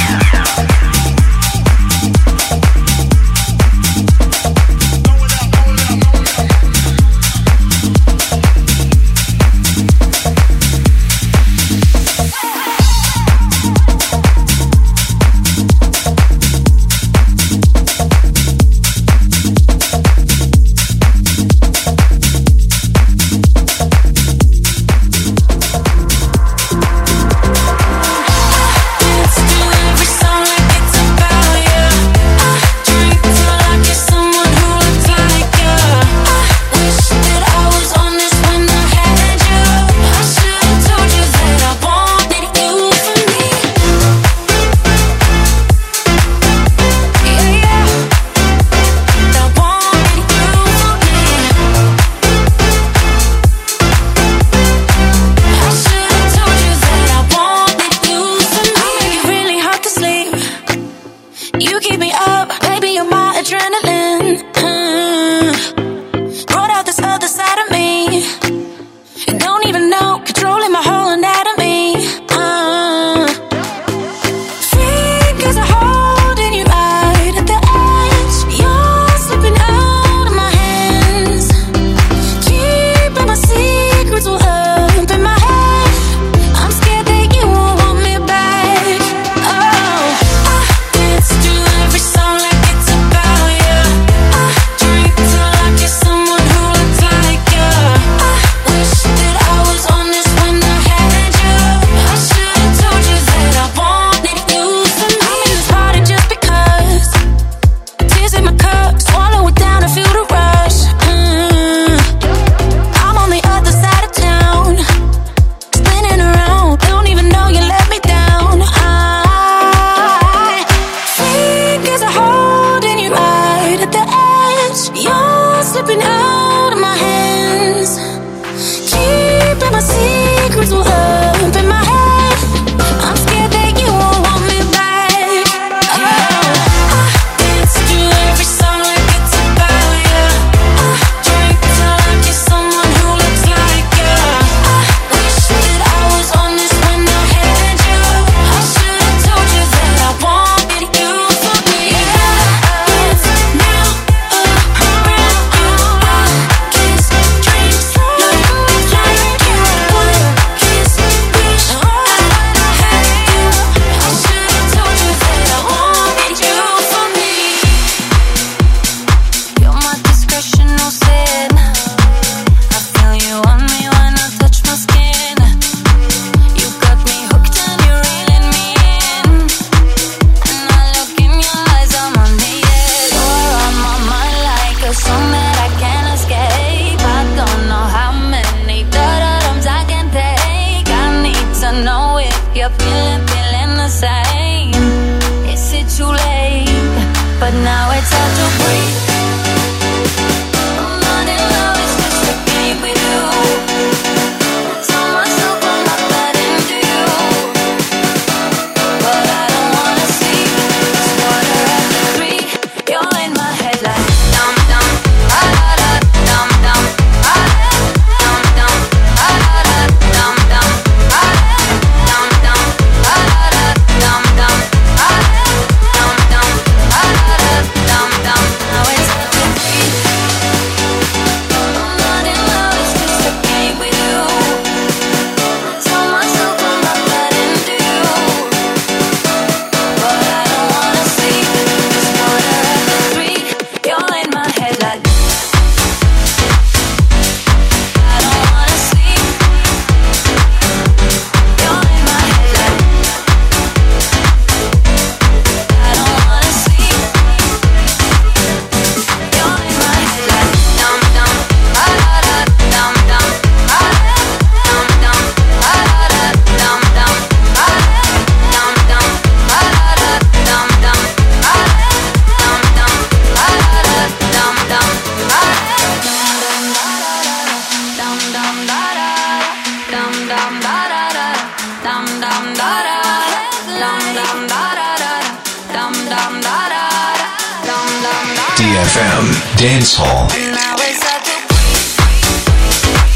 Speaker 1: D эф эм Dance Hall.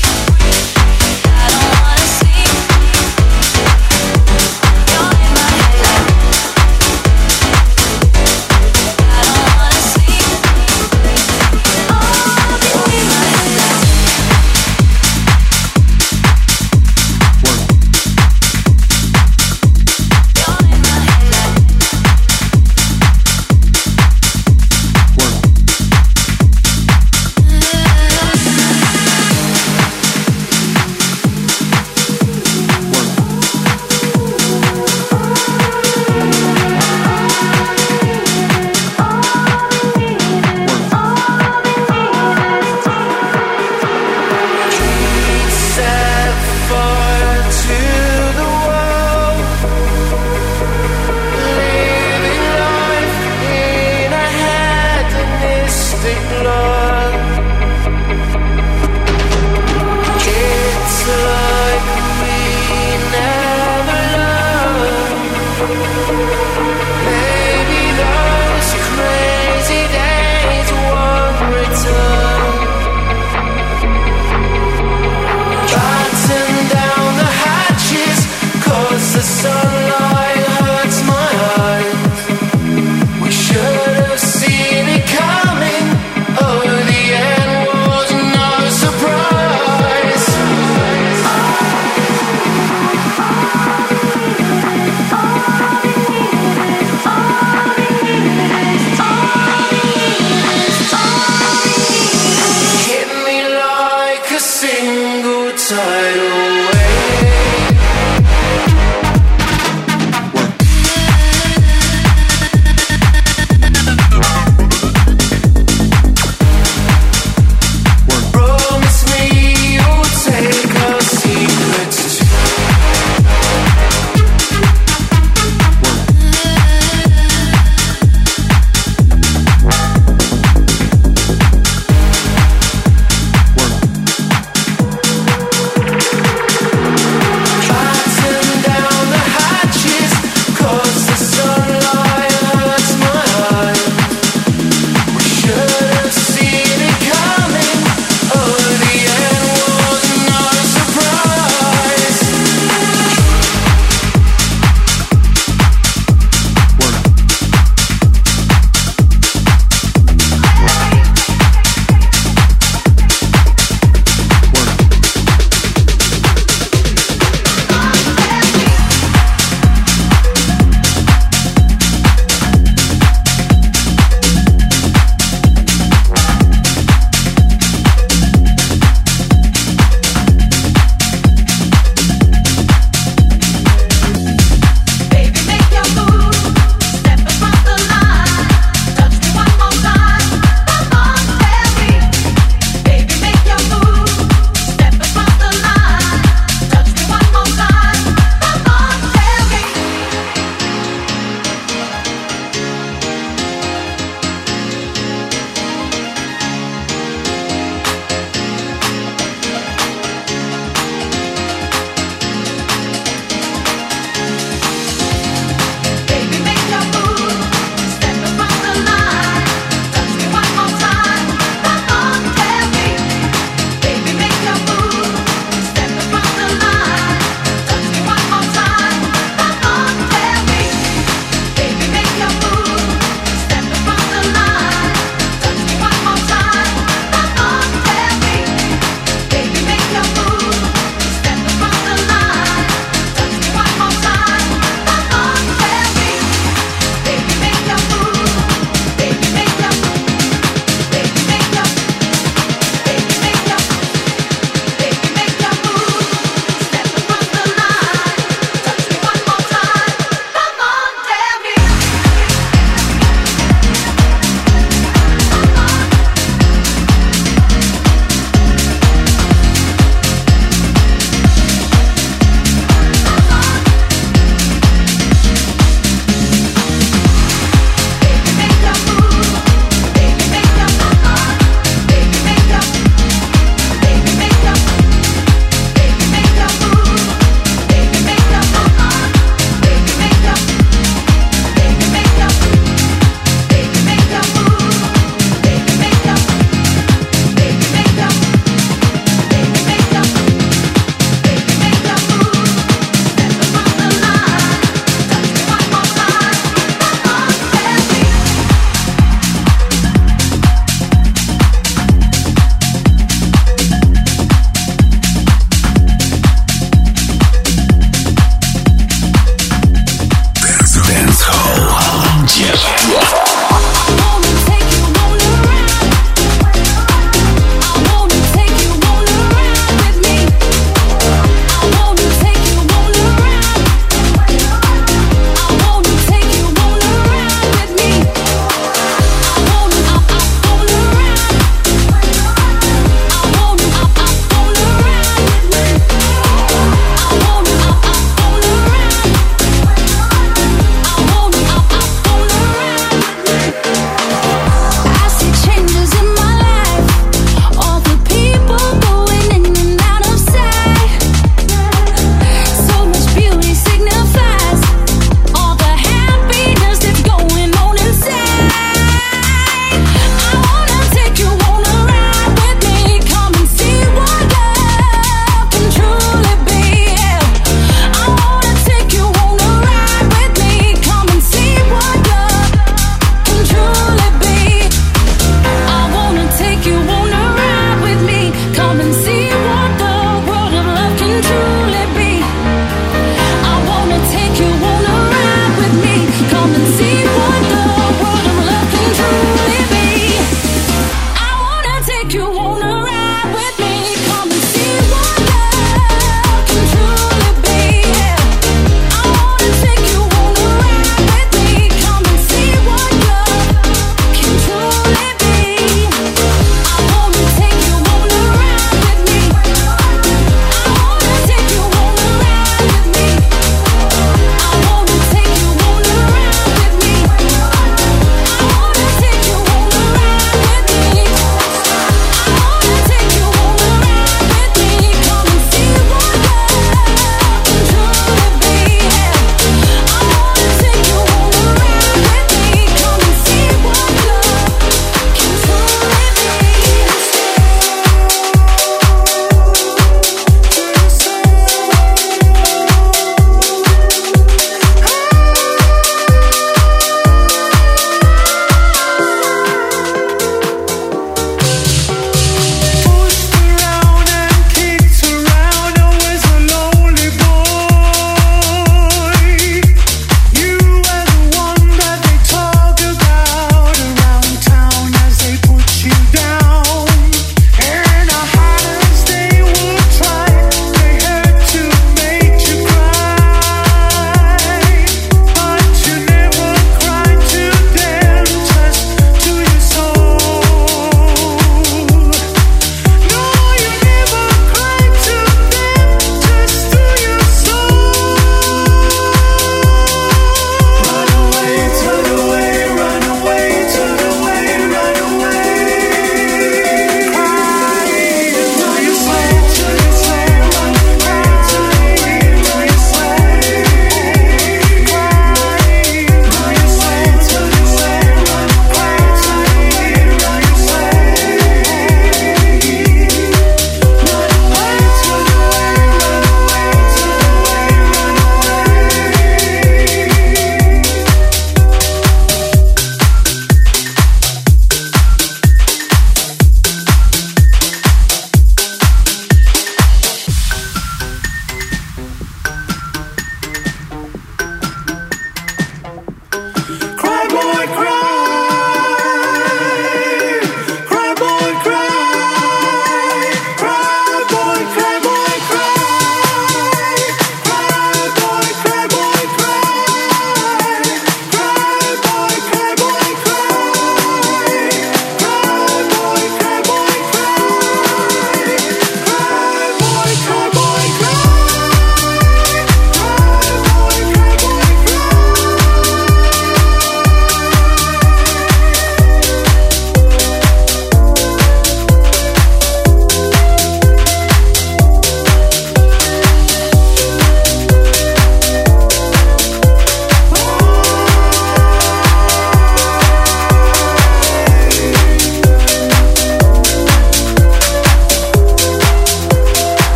Speaker 10: I don't wanna see. You're in my head.
Speaker 9: sunlight hurts my eyes. We should have seen it coming. Oh, the end was no surprise. Hit me like a single tidal wave.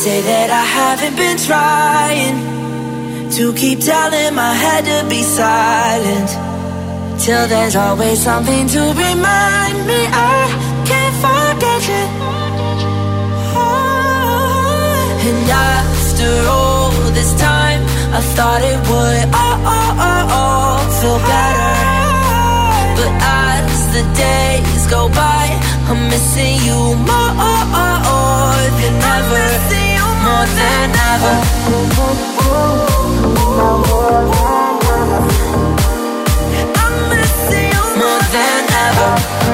Speaker 11: say that I haven't been trying to keep telling my head to be silent, till there's always something to remind me I can't forget you. Oh, and after all this time, I thought it would all, all, all, all feel better. But as the days go by, I'm missing you more than ever, more than ever. I'm missing you more than ever.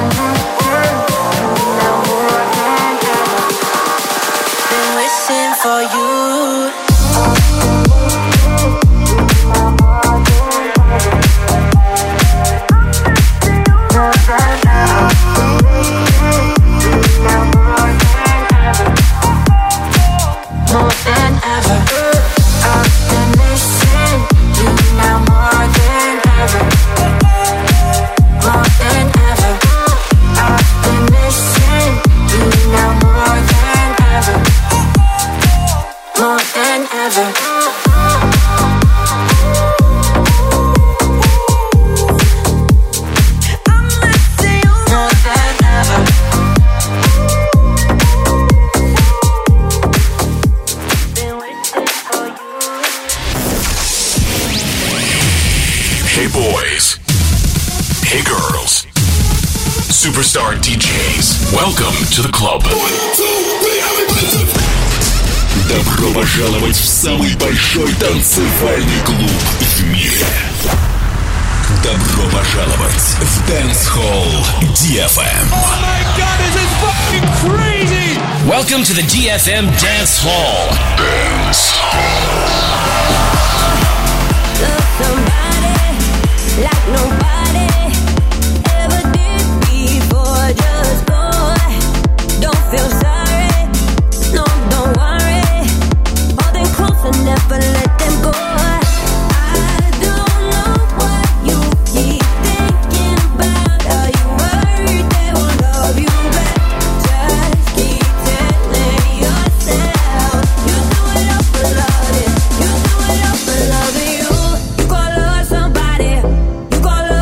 Speaker 11: Been wishing for you. More than ever, I've been missing you now more than ever. More than ever, I've been missing you now more than ever. More than ever. I'm missing you more than ever.
Speaker 1: Hey boys. Hey girls. Superstar ди джейс. Welcome to the club. Добро пожаловать в самый большой танцевальный клуб в мире. Добро пожаловать в Dance Hall ди эф эм.
Speaker 2: Oh my god, this is fucking crazy!
Speaker 3: Welcome to the ди эф эм Dance Hall.
Speaker 1: Dance Hall.
Speaker 7: Love somebody like nobody ever did before. Just go, don't feel sorry, no, don't worry. Hold them close and never let them go. I don't know what you keep thinking about. Are you worried they won't love you back? Just keep telling yourself you do it all for loving, you do it all for loving you. You gotta love somebody, you gotta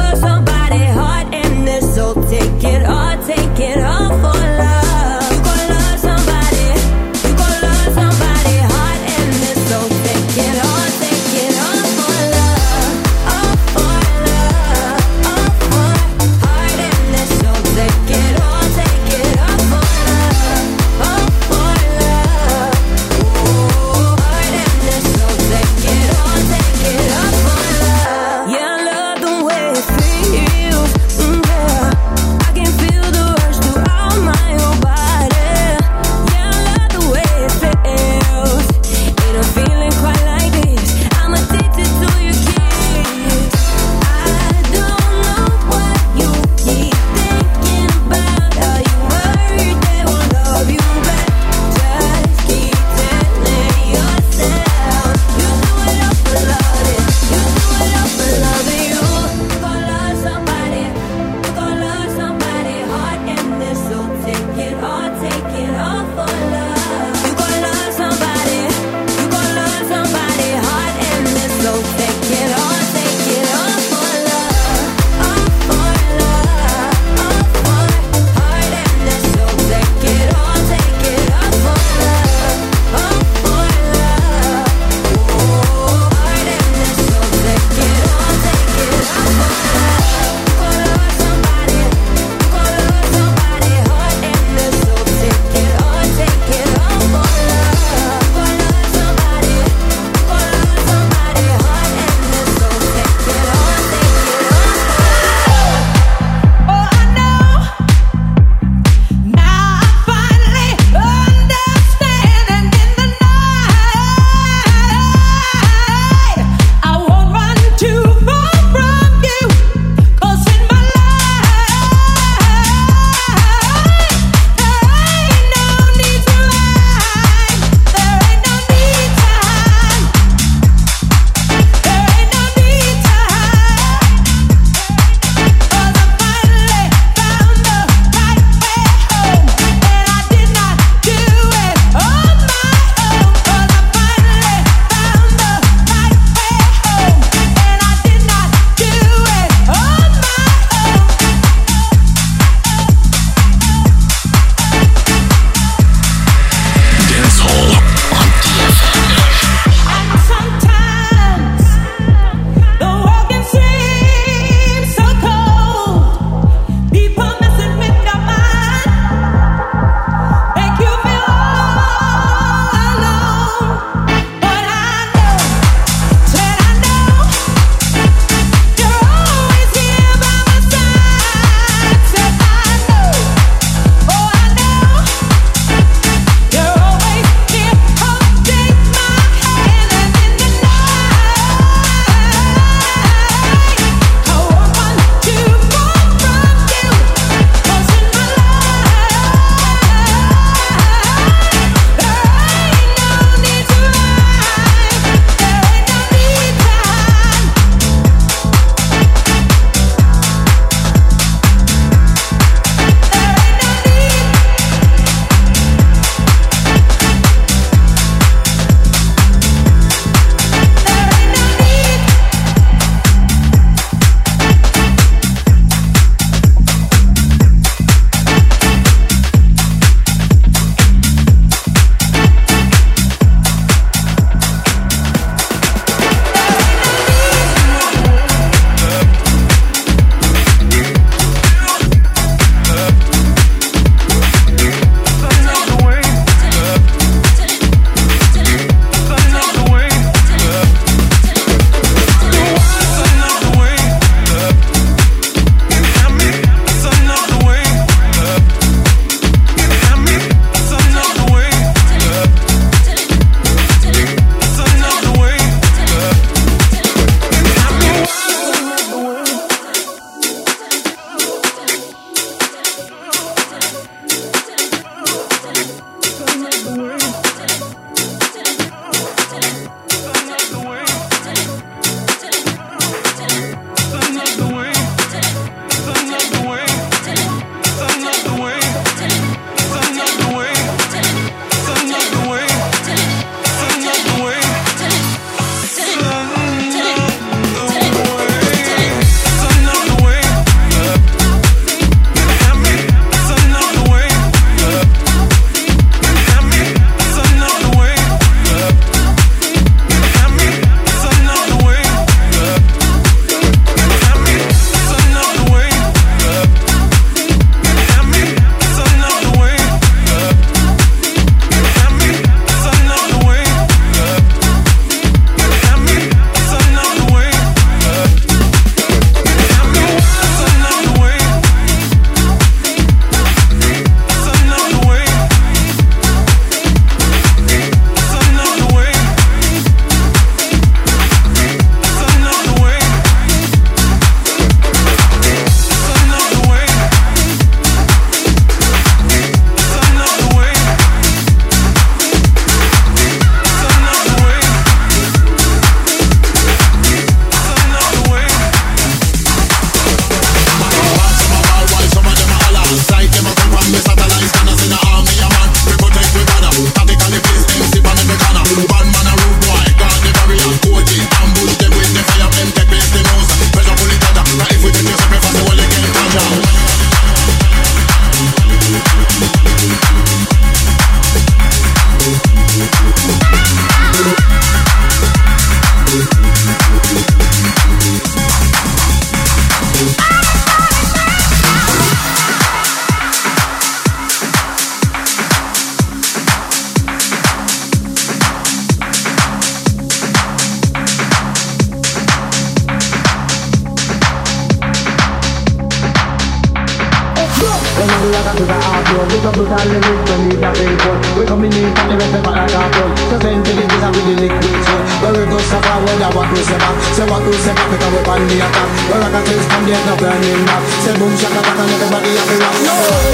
Speaker 12: a to the outdoor. We come to the lyrics, we need a big one. We coming in from the rest of our cartoon. The sentiment is a really liquid soul. Where we go suffer, where the what we say back. Say what we say back, because we on the attack. Where I can taste from the end of burning back. Say boom, shaka, taka, and everybody have to rock. No!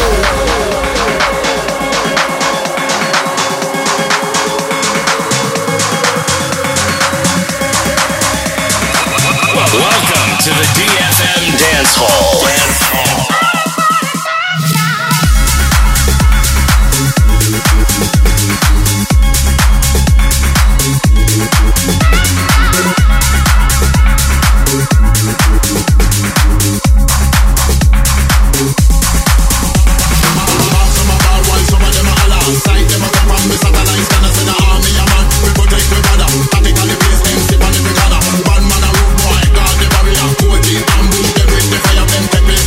Speaker 3: Welcome to the D F M Dance Hall. Dance Hall.
Speaker 5: Ambush them with the fire, them take me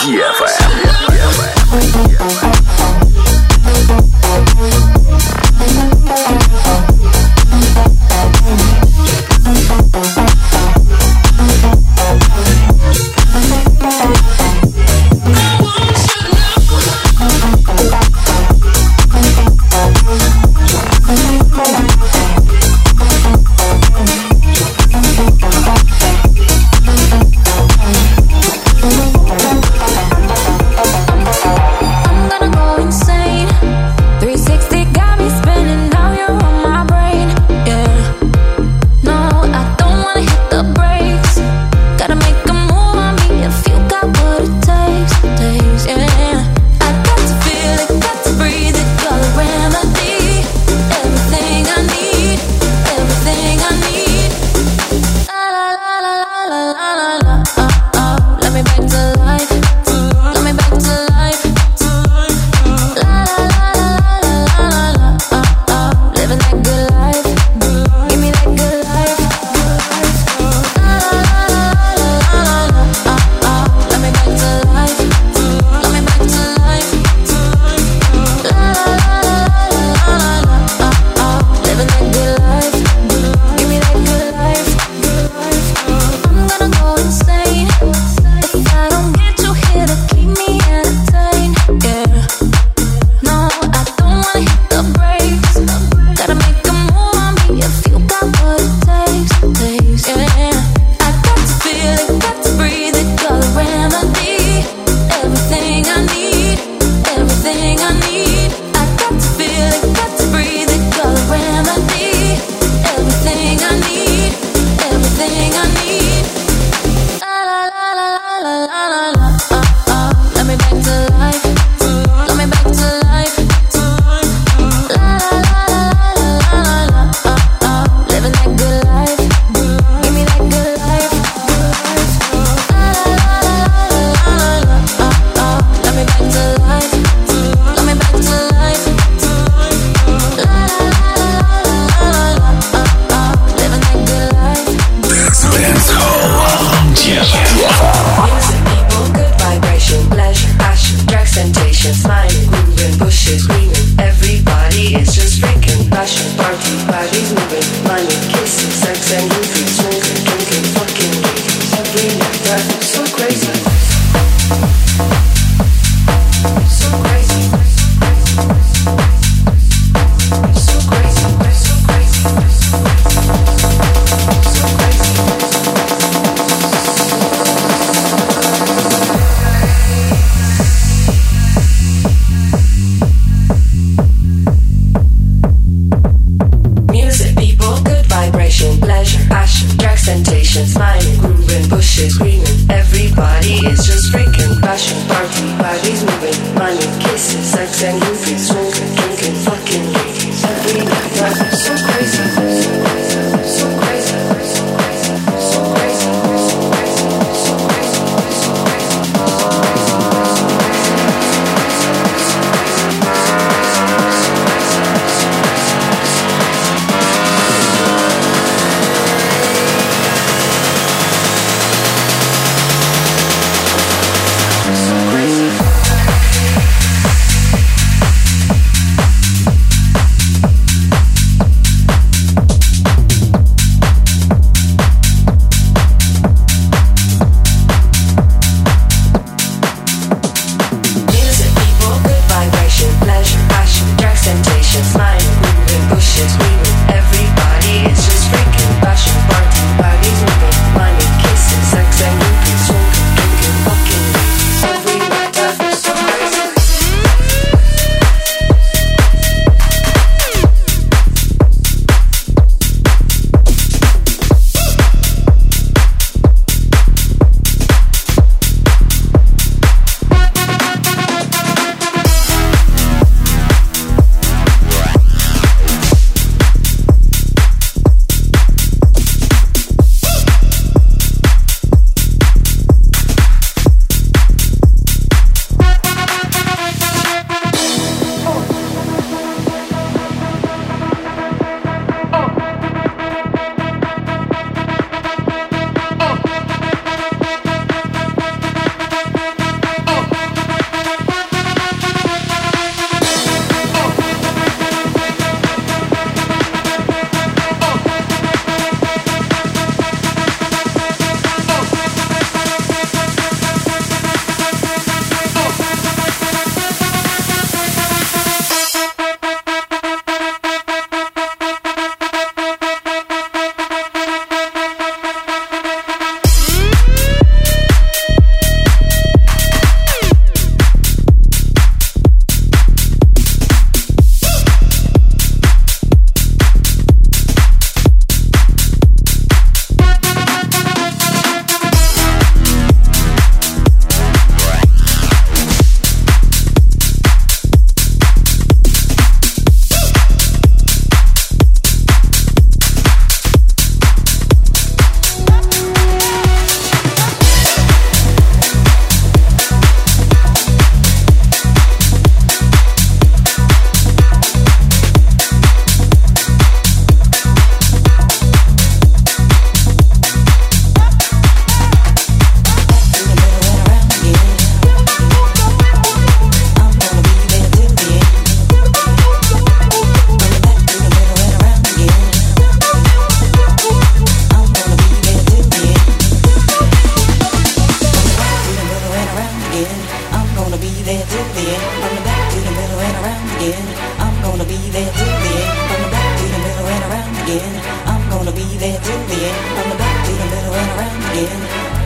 Speaker 1: ди эф эм.
Speaker 13: there till the end, from the back to the middle and around again. I'm gonna be there till the end, from the back to the middle and around again. I'm gonna be there till the end, from the back to the middle and around again.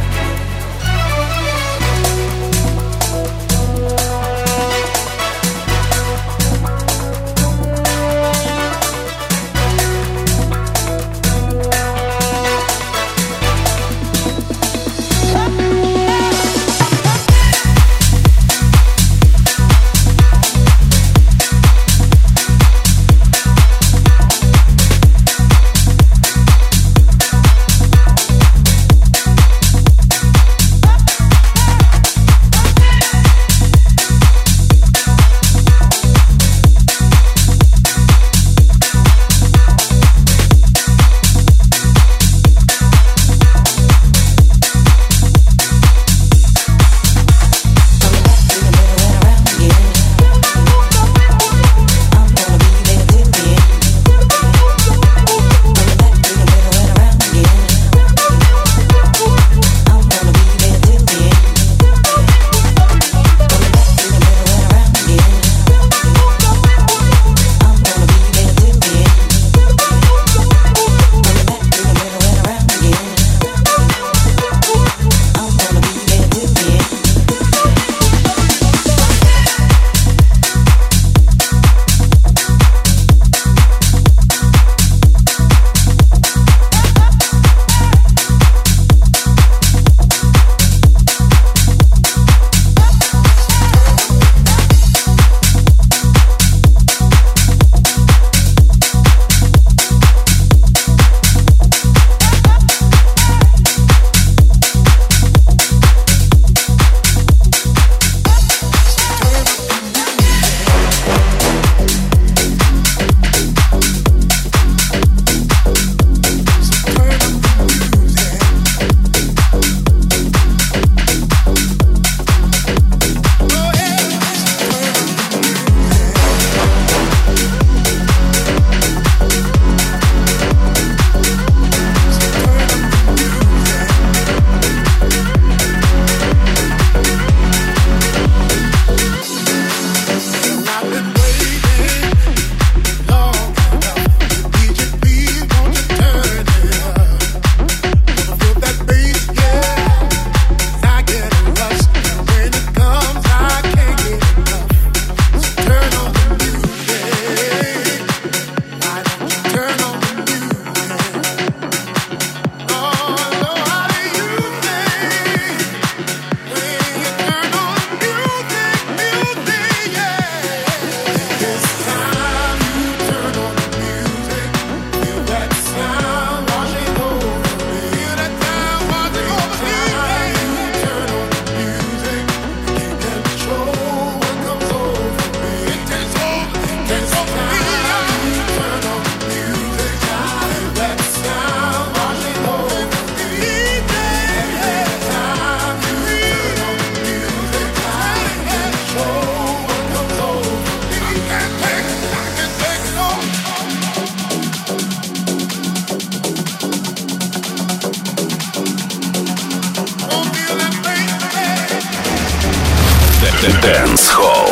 Speaker 1: Dance Hall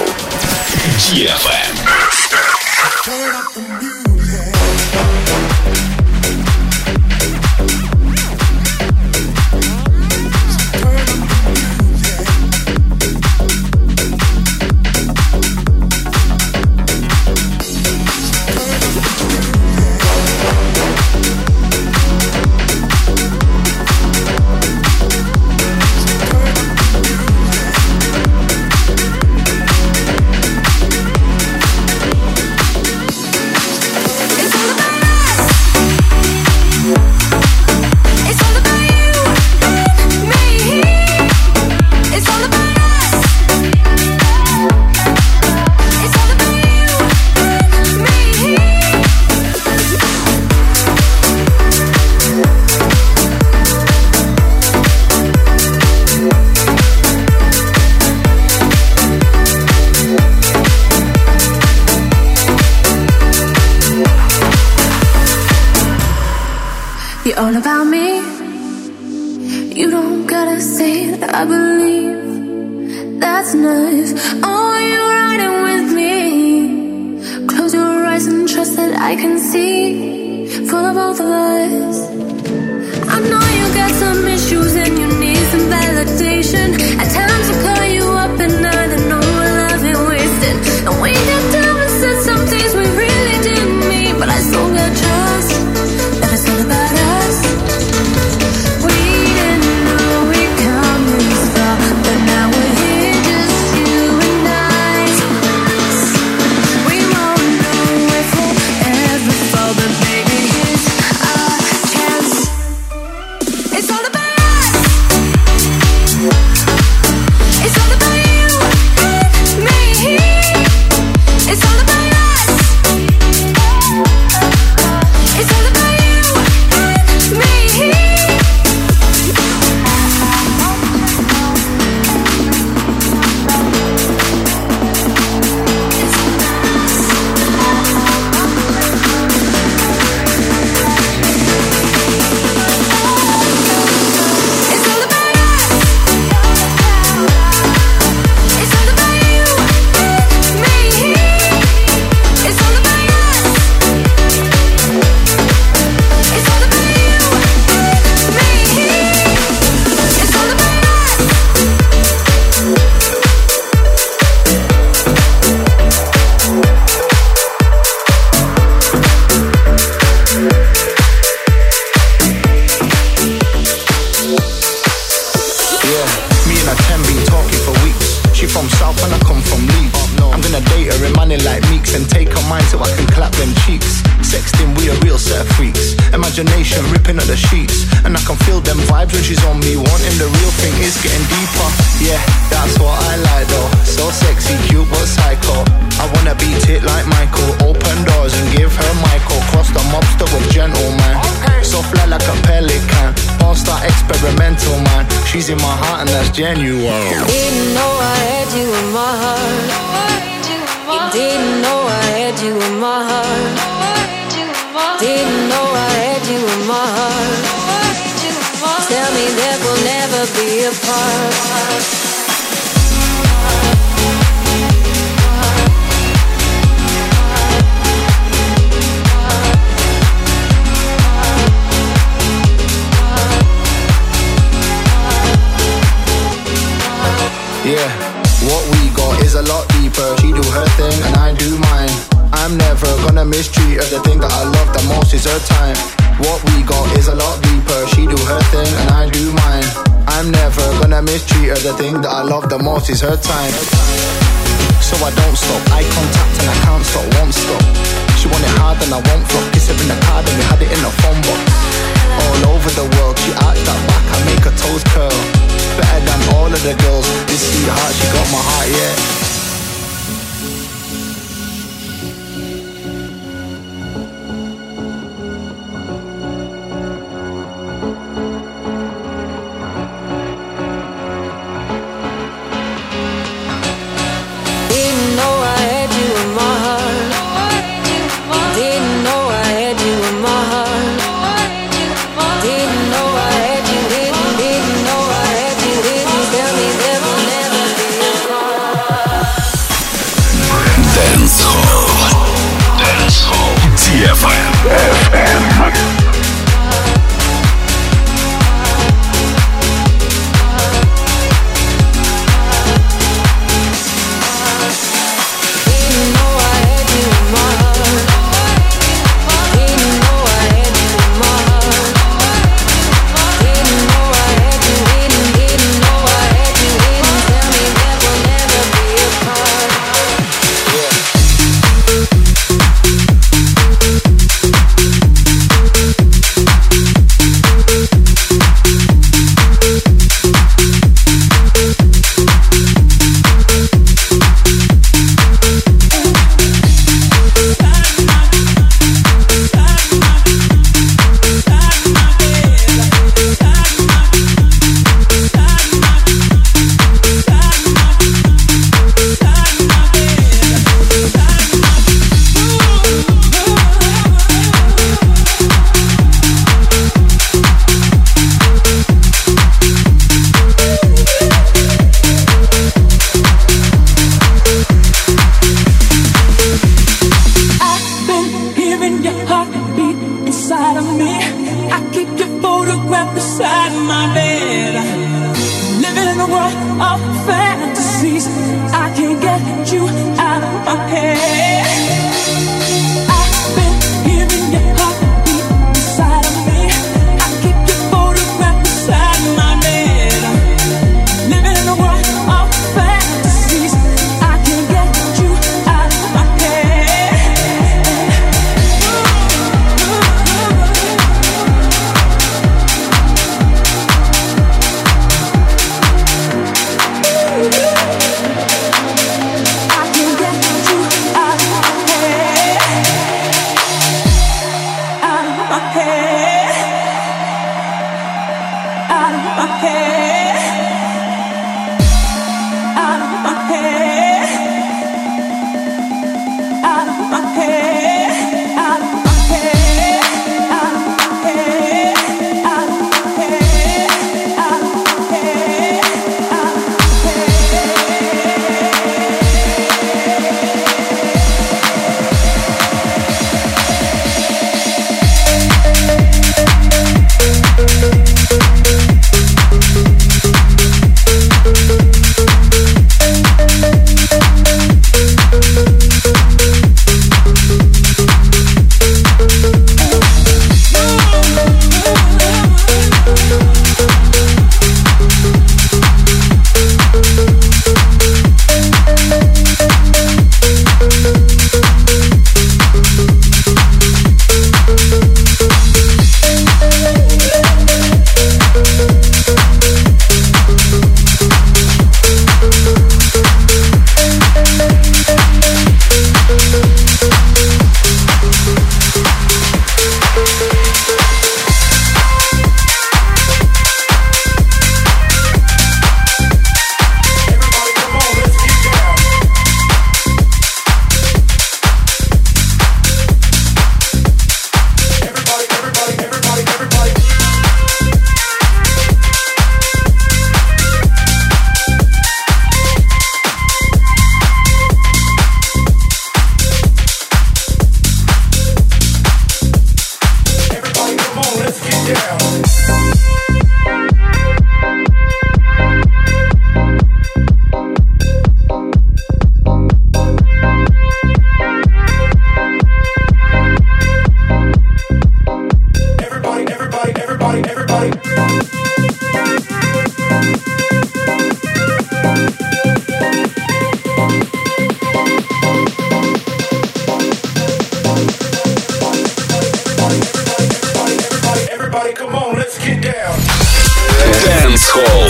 Speaker 1: ди эф эм.
Speaker 10: All about me. You don't gotta say it. I believe that that's nice. Oh, you're riding with me. Close your eyes and trust that I can see for the both of us. I know you got some issues and you need some validation. At times I call you up and I don't know what love ain't wasted. And we got down and said some things we really didn't mean, but I still got trust that it's all about us. We didn't know we'd come this far, but now we're here, just you and I. We won't know if we'll ever fall, but baby, here's our chance. It's all about us. It's all about you and me. It's all about us. It's all about you and me.
Speaker 6: Imagination ripping at the sheets, and I can feel them vibes when she's on me. Wanting the real thing is getting deeper. Yeah, that's what I like though. So sexy, cute but psycho. I wanna beat it like Michael. Open doors and give her Michael. Cross the mobster with gentleman. So fly like a pelican. All-star experimental man. She's in my heart and that's genuine.
Speaker 10: Didn't know I had you in my heart. You didn't know I had you in my heart. Didn't know I had you in my heart. Tell me that we'll never be apart.
Speaker 6: Yeah, what we got is a lot deeper. She do her thing and I do mine. I'm never gonna mistreat her. The thing that I love the most is her time. What we got is a lot deeper. She do her thing and I do mine. I'm never gonna mistreat her. The thing that I love the most is her time. So I don't stop, eye contact and I can't stop, won't stop. She want it hard and I won't flop. Kiss her in the card and we had it in a phone box. All over the world, she arched that back, I make her toes curl. Better than all of the girls. This sweetheart, she got my heart, yeah.
Speaker 10: Tell me that we'll never be apart.
Speaker 1: Dance Hall.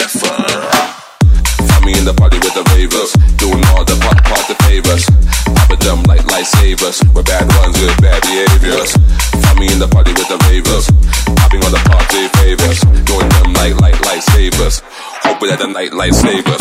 Speaker 14: the party with the ravers, doing all the pop, pop the favors. Papa of them like lifesavers. We're bad ones with bad behaviors. Find me in the party with the ravers, popping on the party favors, doing them like like lifesavers. Hoping that the night lifesavers.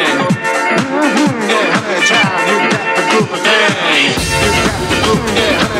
Speaker 15: Yeah.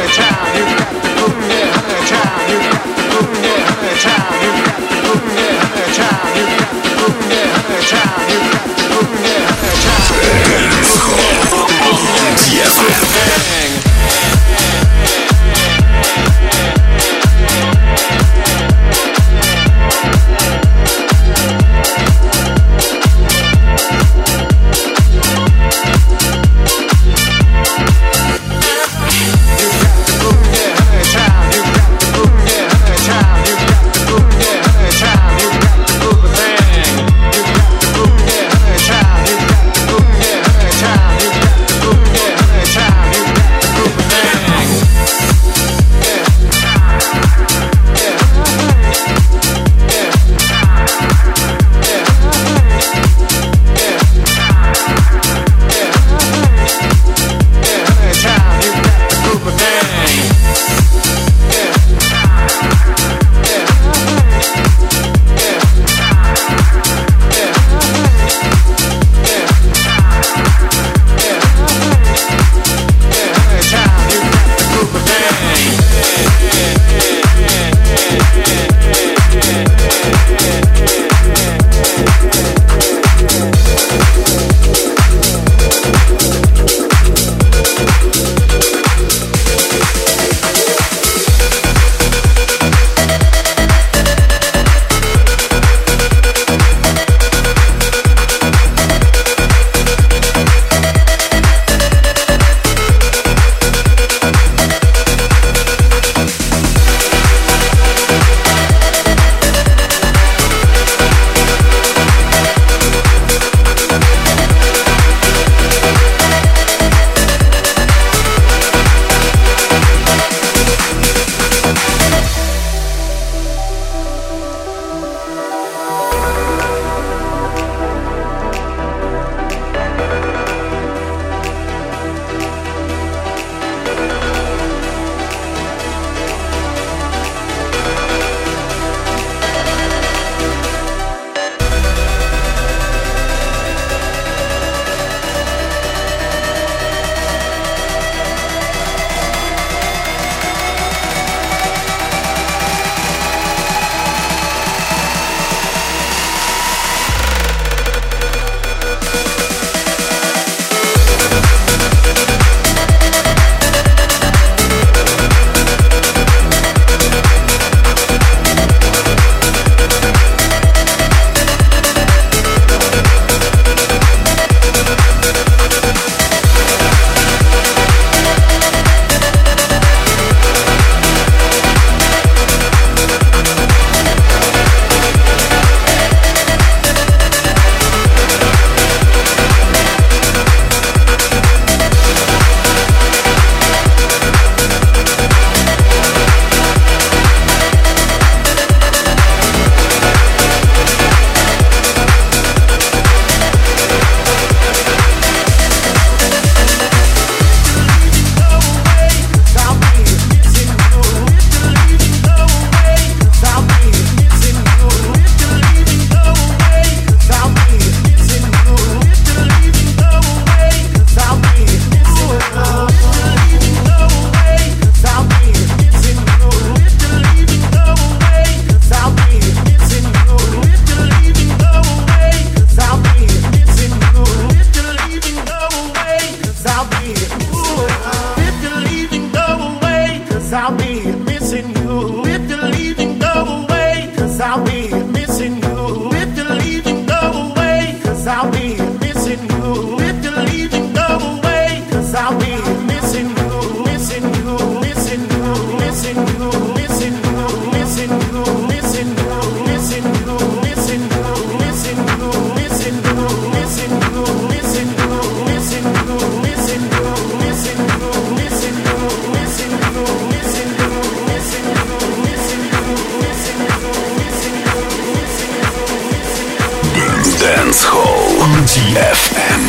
Speaker 1: эф эм.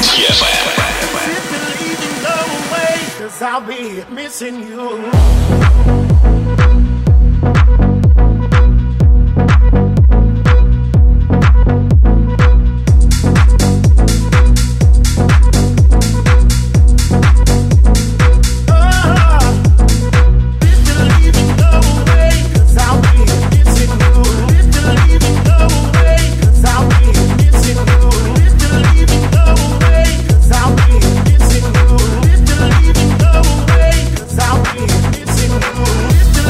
Speaker 15: Cause I'll be missing you.
Speaker 5: Missing you.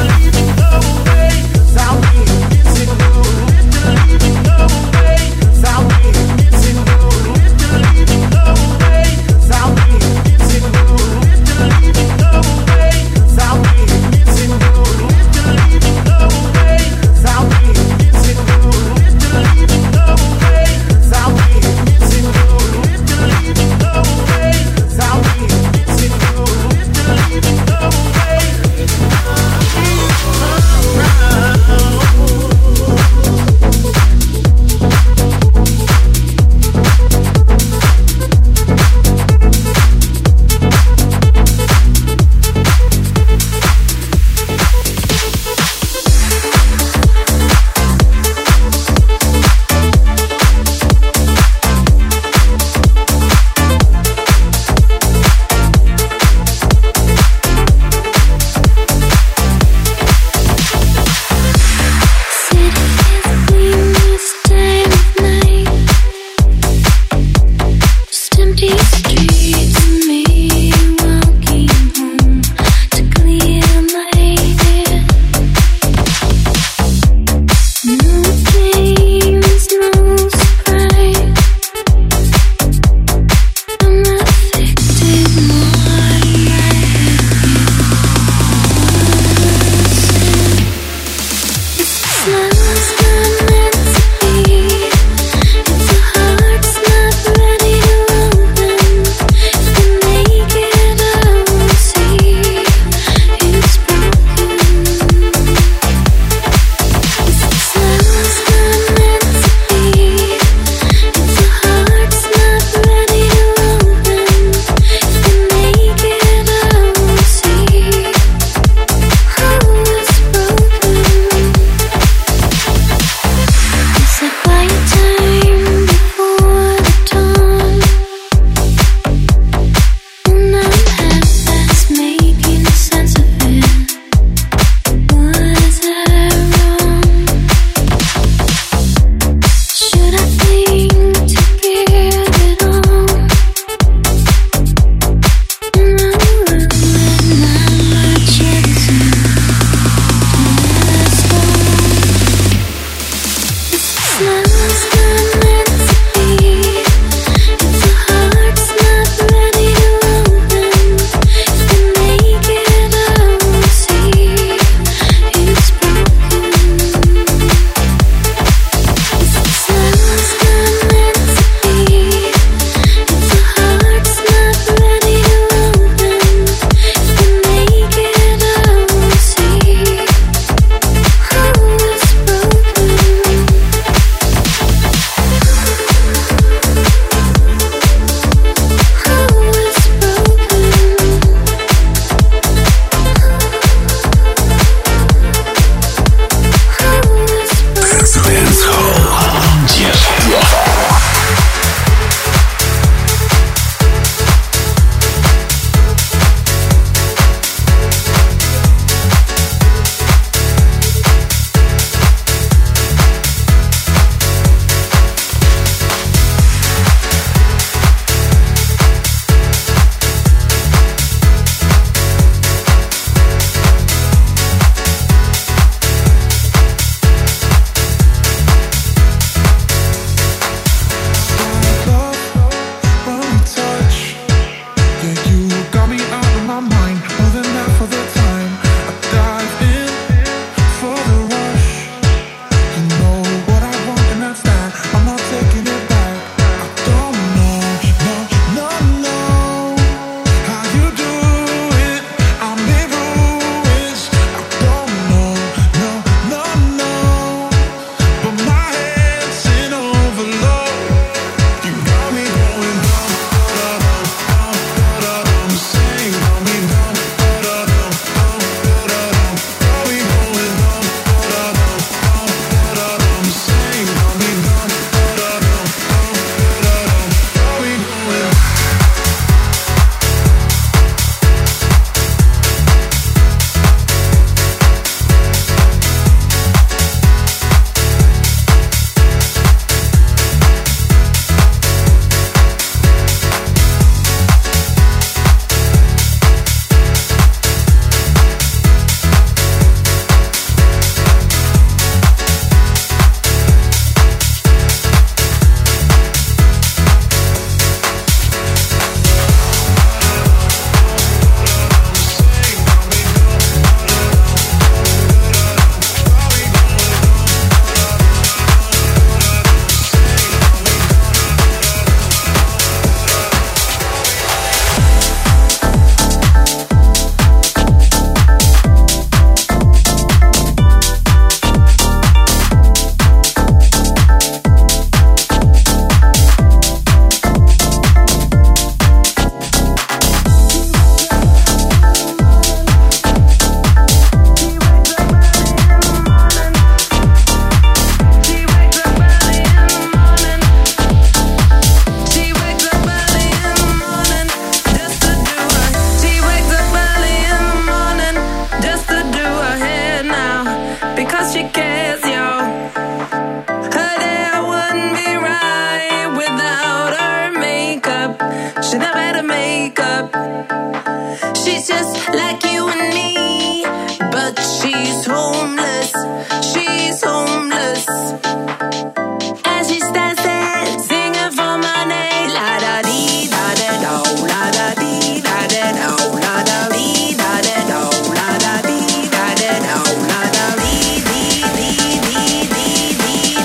Speaker 10: like you and me, but she's homeless, she's homeless. And she stands there singing for my name, la da dee da da do, la da dee da da do, la da dee da da do, la da dee da da do, la da dee dee dee dee dee dee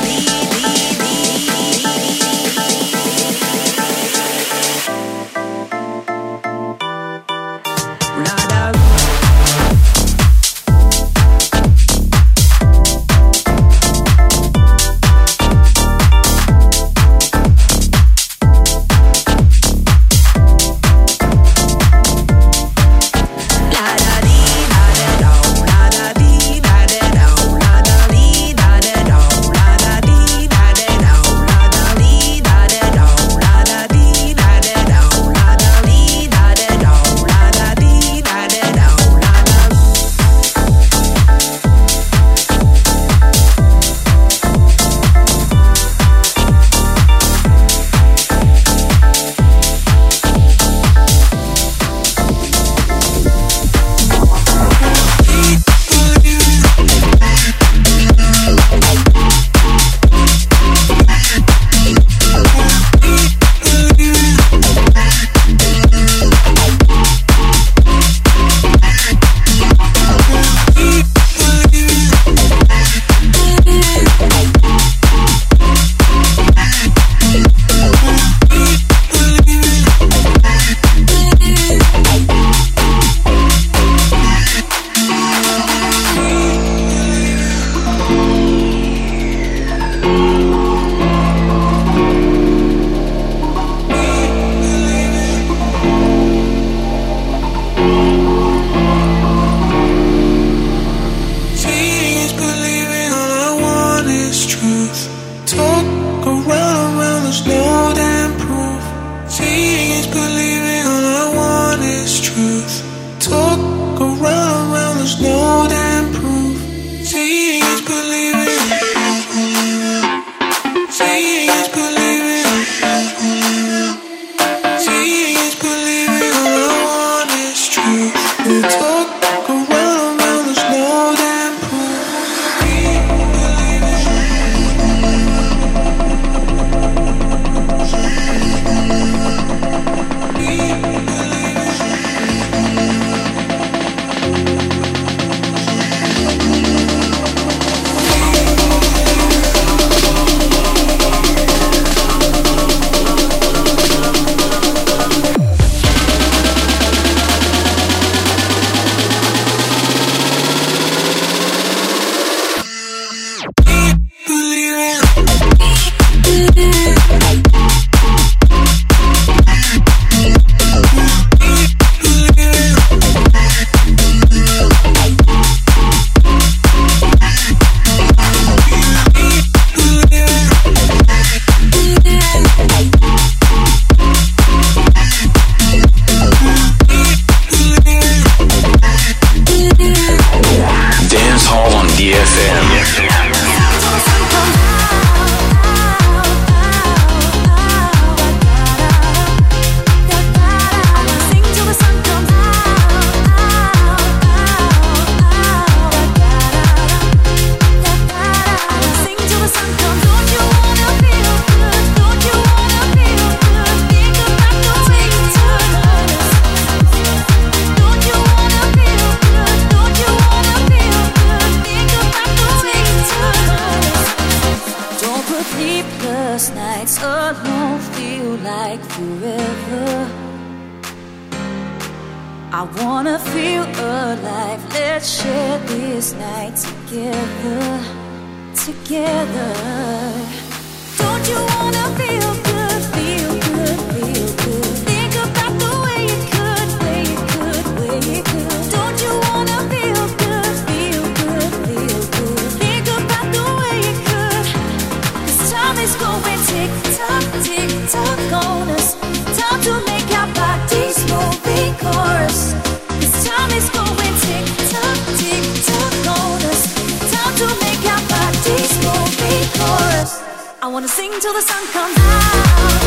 Speaker 11: I wanna feel alive. Let's share this night together, together. Don't you wanna feel good, feel good, feel good? Think about the way it could, way it could, way it could. Don't you wanna feel good, feel good, feel good? Think about the way it could. 'Cause time is going tick tock, tick tock on us. Time to make our bodies move, chorus. 'Cause time is going tick tock, tick tock on us. Time to make our bodies move, chorus. I wanna sing till the sun comes out.